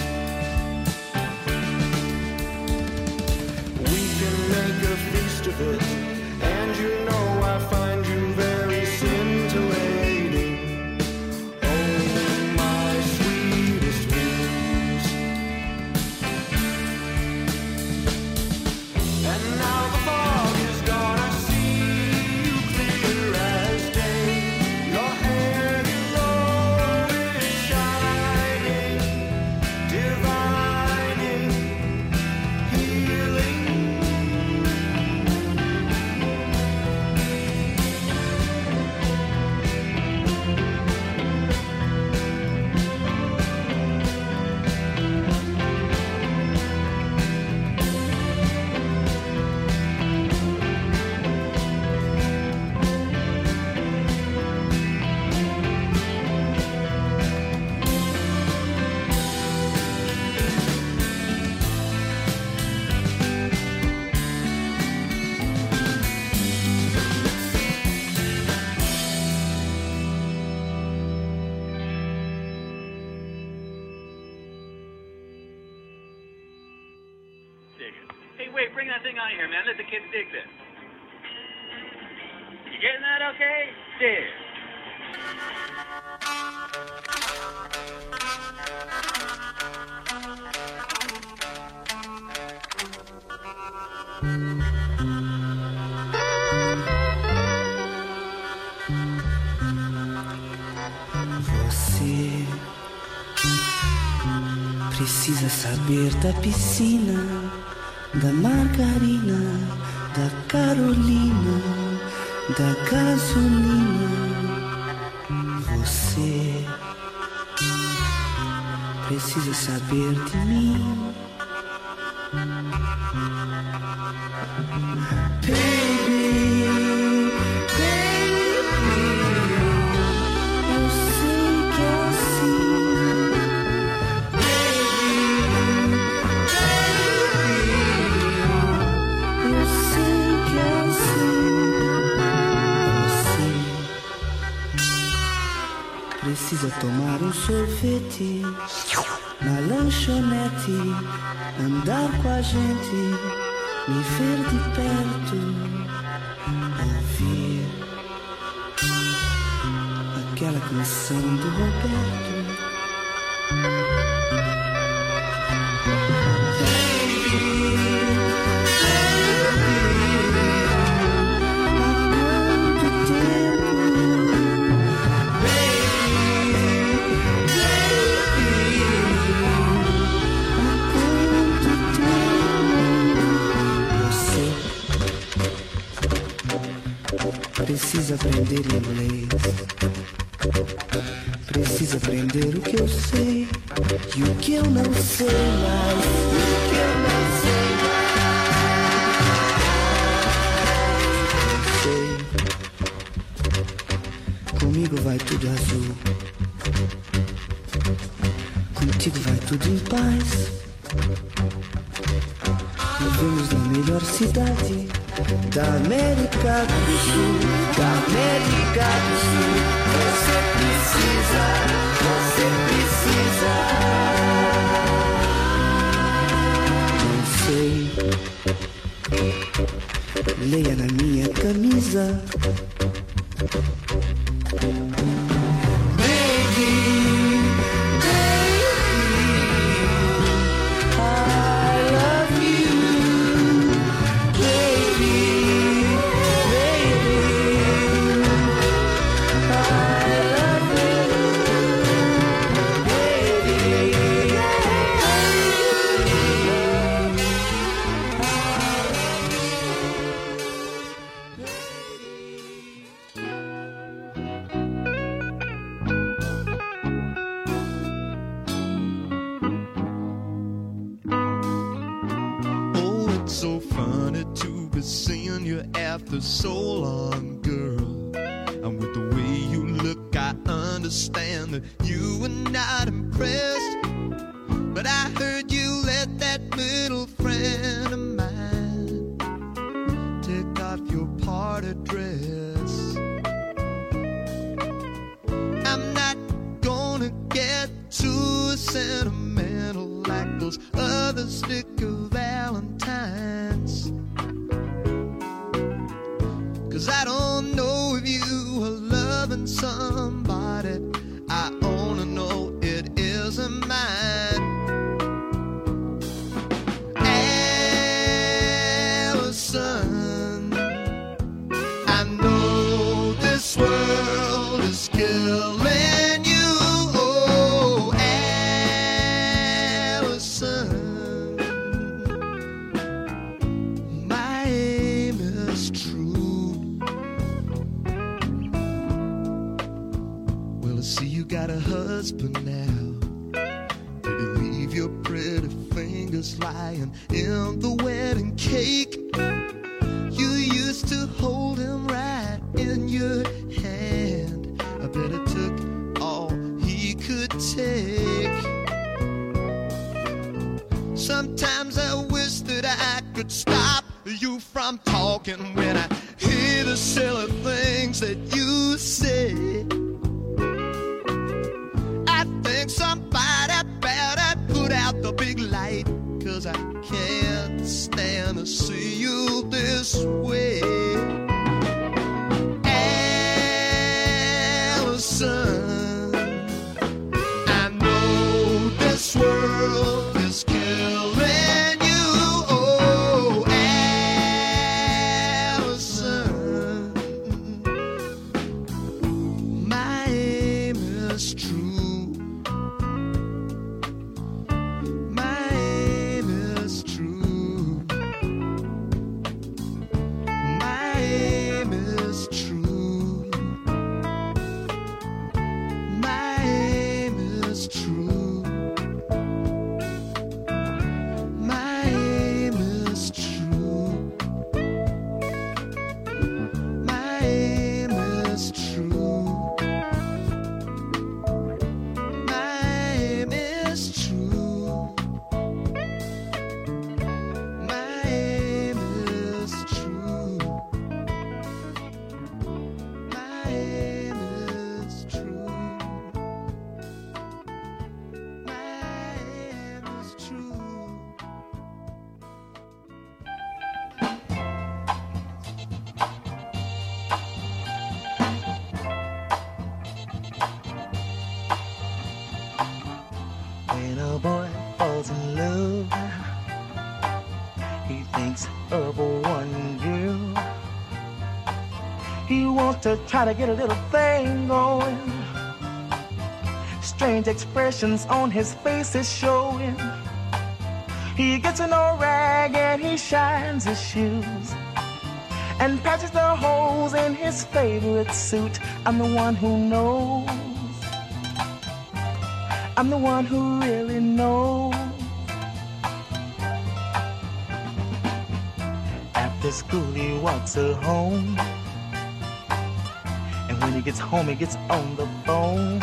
We can make a feast of it, and you know I find you very scintillating. Oh, my sweetest muse. And now the fog is gone, I see you clear as day. Your hair below is shining, divining, healing. Dig it. Hey, wait, bring that thing on here, man. Let the kids dig this. You getting that okay? Dig. Você precisa saber da piscina, da margarina, da Carolina, da gasolina. Você precisa saber de mim. Baby, baby, eu sei que é assim. Baby, baby, eu sei que é assim. Você precisa tomar um sorvete na lanchonete, andar com a gente, me ver de perto, ouvir aquela canção do Roberto. Precisa aprender inglês, precisa aprender o que eu sei e o que eu não sei mais, o que eu não sei mais. Sei, comigo vai tudo azul, contigo vai tudo em paz. Vivemos na melhor cidade da América do Sul, da América do Sul. Você precisa, você precisa. Não sei, leia na minha camisa. After so long, girl, and with the way you look, I understand that you were not impressed. But I heard you let that little friend of mine take off your party dress. sentimental like those other sticker valentines. Cause I don't know if you are loving somebody. I only know it isn't mine. Allison, I know this world is killing you. Oh, Allison, my aim is true. Well, I see you got a husband now. Did you leave your pretty fingers lying in the wedding cake? You used to hold him right in your hand. I bet it took all he could take. Sometimes I wish that I could stop you from talking when I hear the silly things that you say. I think somebody better put out the big light, cause I can't stand to see you this way. Allison, I know this world is killing you. Oh, Allison, my aim is true. My aim is true. My aim is true. My aim is true. My aim is true. My aim is true. My aim is true. My aim is true. My aim is true. My aim is true. When a boy falls in love, he thinks of one girl. He wants to try to get a little thing going. Strange expressions on his face is showing. He gets an old rag and he shines his shoes and patches the holes in his favorite suit. I'm the one who knows. I'm the one who really knows. After school he walks her home, and when he gets home he gets on the phone.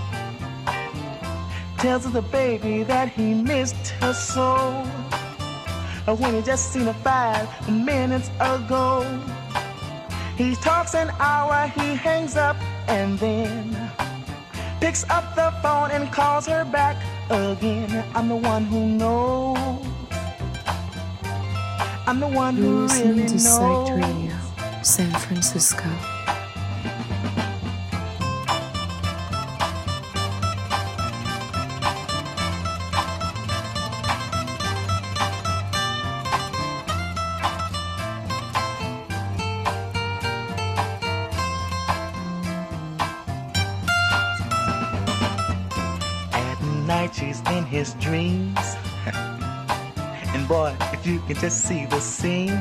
Tells the baby that he missed her so. When he just seen her five minutes ago. He talks an hour, he hangs up and then picks up the phone and calls her back again. I'm the one who knows. I'm the one You're who listening really to knows. Psyched Radio, San Francisco. At night she's in his dreams. And boy, if you can just see the scene.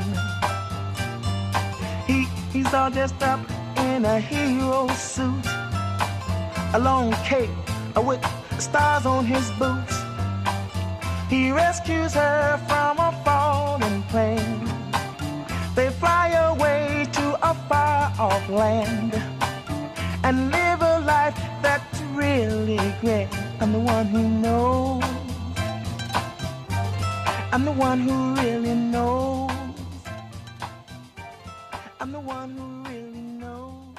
He, he's all dressed up in a hero suit, a long cape with stars on his boots. He rescues her from a falling plane. They fly away to a far-off land and live a life that's really great. I'm the one who knows. I'm the one who really knows. I'm the one who really knows.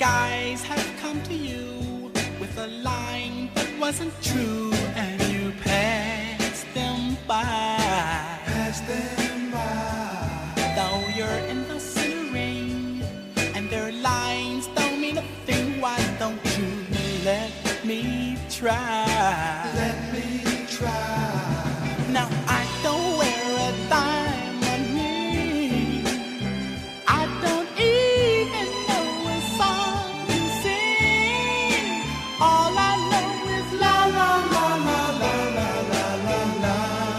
guys have come to you with a line that wasn't true, and you passed them by. Passed them by. Though you're in the center ring, and their lines don't mean a thing, why don't you let me try? Let me try. Now I don't wear a diamond ring. I don't even know a song to sing. All I know is la la la la la la la la la.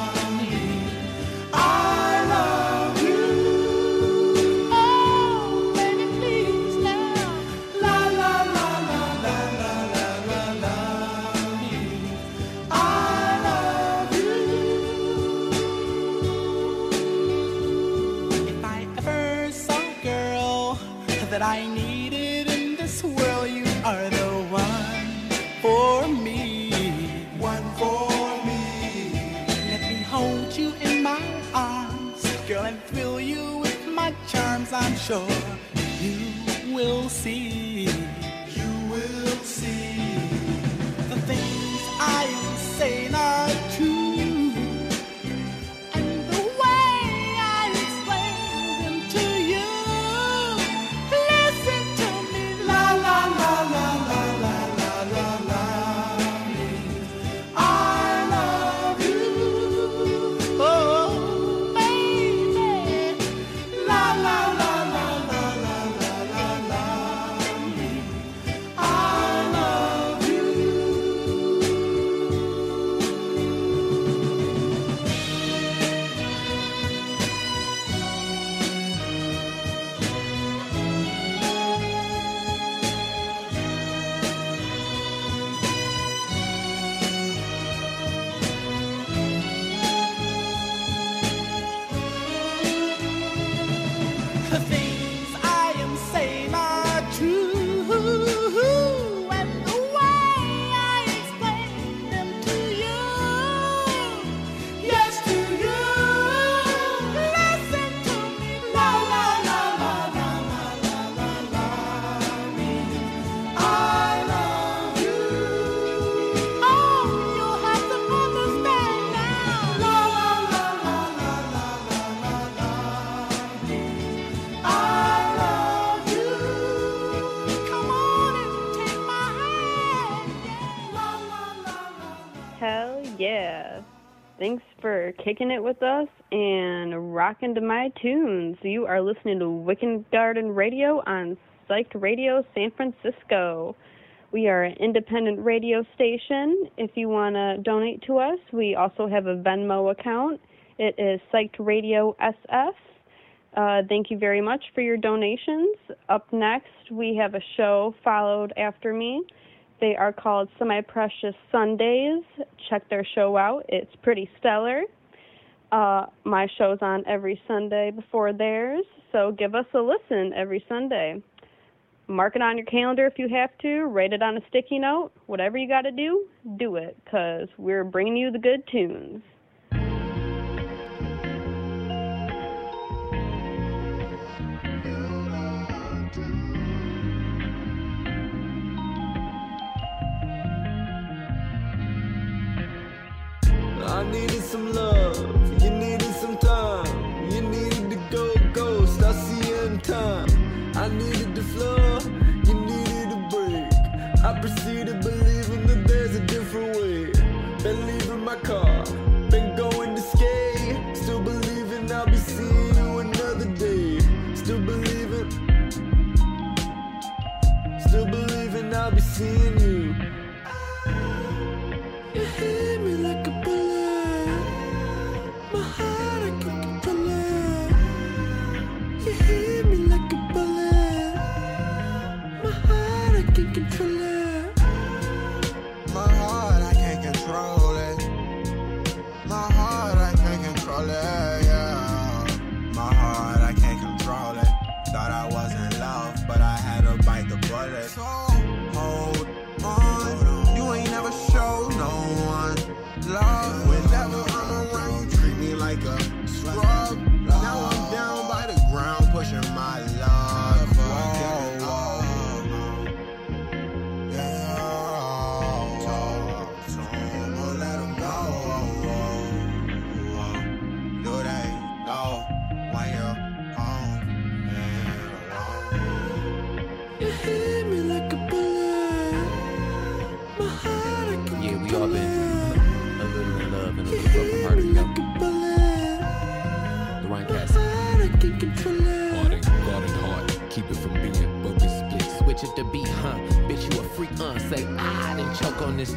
I love you. Oh, baby, please now. La la la la la la la la la. I love you. If I ever saw a girl that I needed in this world, you are the one for me. One for me. Let me hold you in my arms, girl, and thrill you with my charms. I'm sure you will see. You will see. The things I am saying are true, and the way I explain them to you. Listen to me, la la la la la la la la la. I love you, oh baby, la la la la la la la la la. I love you. The things I am saying are true, and the way I explain them to you. Yes, to you. Listen to me, la la la la la la la la la. I love you. Oh, you have to understand now. La la la la la la la la la. I love you. Come on and take my hand. Yeah. La la la la. Hell yeah. Thanks for kicking it with us and rocking to my tunes. You are listening to Wicked Garden Radio on Psyched Radio San Francisco. We are an independent radio station. If you want to donate to us, we also have a Venmo account. It is Psyched Radio S F. Uh, thank you very much for your donations. Up next, we have a show followed after me. They are called Semi-Precious Sundays. Check their show out. It's pretty stellar. Uh, my show's on every Sunday before theirs, so give us a listen every Sunday. Mark it on your calendar if you have to. Write it on a sticky note. Whatever you got to do, do it, because we're bringing you the good tunes. I needed some love, you needed some time. You needed to go ghost, I see you in time. I needed the floor, you needed a break. I proceeded believing that there's a different way. Been leaving my car, been going to skate. Still believing I'll be seeing you another day. Still believing, still believing I'll be seeing you. You hit me like a bullet. My heart, I can't control it. You hit me like a bullet. My heart, I can't control it. My heart, I can't control it. My heart, I can't control it, yeah. My heart, I can't control it. Thought I was in love, but I had to bite the bullet. So, hold on. You ain't never showed no one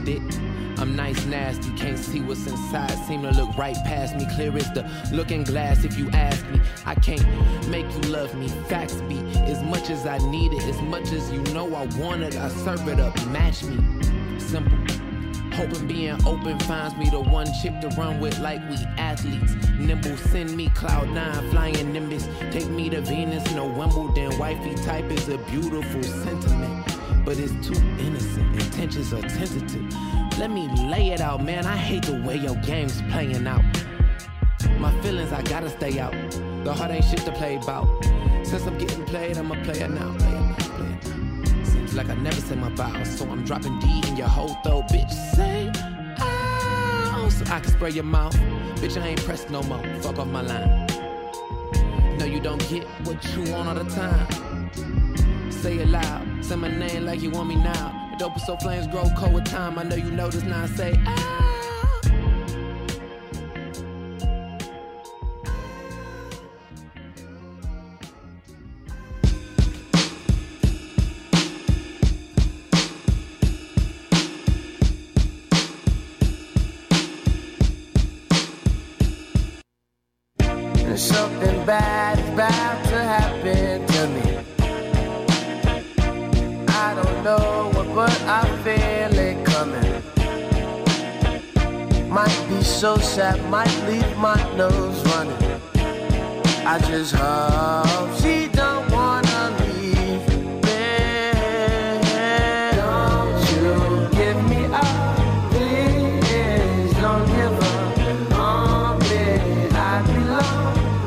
it. I'm nice, nasty, can't see what's inside. Seem to look right past me, clear as the looking glass. If you ask me, I can't make you love me. Facts be as much as I need it, as much as you know I want it. I serve it up, match me. Simple. Hoping being open finds me the one chick to run with like we athletes. Nimble, send me cloud nine, flying Nimbus. Take me to Venus, no Wimbledon. Wifey type is a beautiful sentiment, but it's too innocent. Intentions are tentative. Let me lay it out, man. I hate the way your game's playing out. My feelings, I gotta stay out. The heart ain't shit to play about. Since I'm getting played, I'ma play it now, play it now, play it now. Seems like I never say my vows, so I'm dropping D in your whole throat, bitch. Say ow, so I can spray your mouth. Bitch, I ain't pressed no more. Fuck off my line. No, you don't get what you want all the time. Say it loud, say my name like you want me now. The dope so flames grow cold with time. I know you notice now. Say ah. Something bad is about to happen to me. I don't know what, but I feel it coming. Might be so sad, might leave my nose running. I just hope she don't wanna leave me. Don't you give me up, please. Don't give up on me. I belong.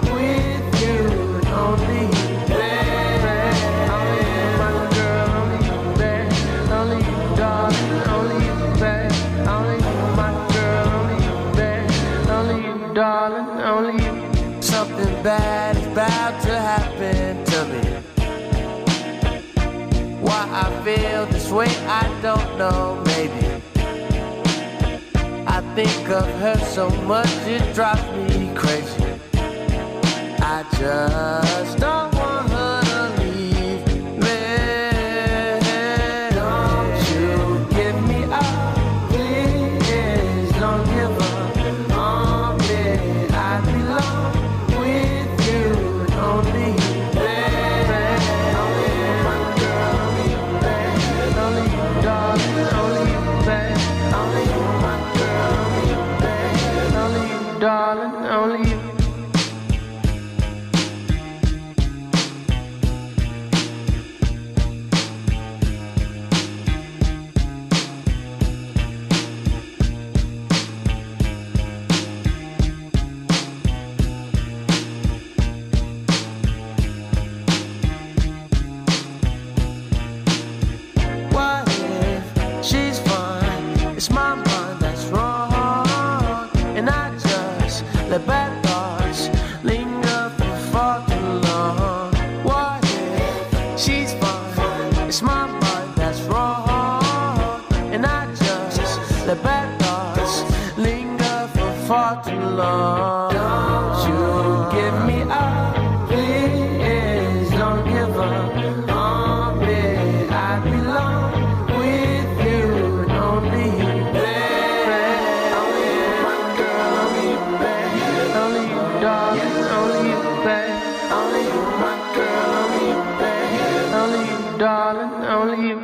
Darling, only you. Something bad is about to happen to me. Why I feel this way, I don't know, maybe. I think of her so much, it drives me crazy. I just don't want her to leave me. Don't you give me up, please. Don't give up. Darling, only you. What if she's fine? It's my mind that's wrong, and I the bad thoughts linger for far too long. What if she's fine? It's my mind that's wrong, and I just let bad thoughts linger for far too long. Don't you give me up, please. Don't give up on me. I belong with you, only you. Darling, only you, babe. Only you, my girl, only you, babe. Only you, darling, only you.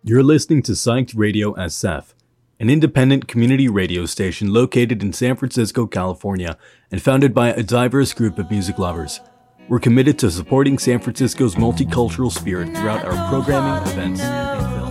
You're listening to Psyched Radio S F, an independent community radio station located in San Francisco, California, and founded by a diverse group of music lovers. We're committed to supporting San Francisco's multicultural spirit throughout our programming, events, and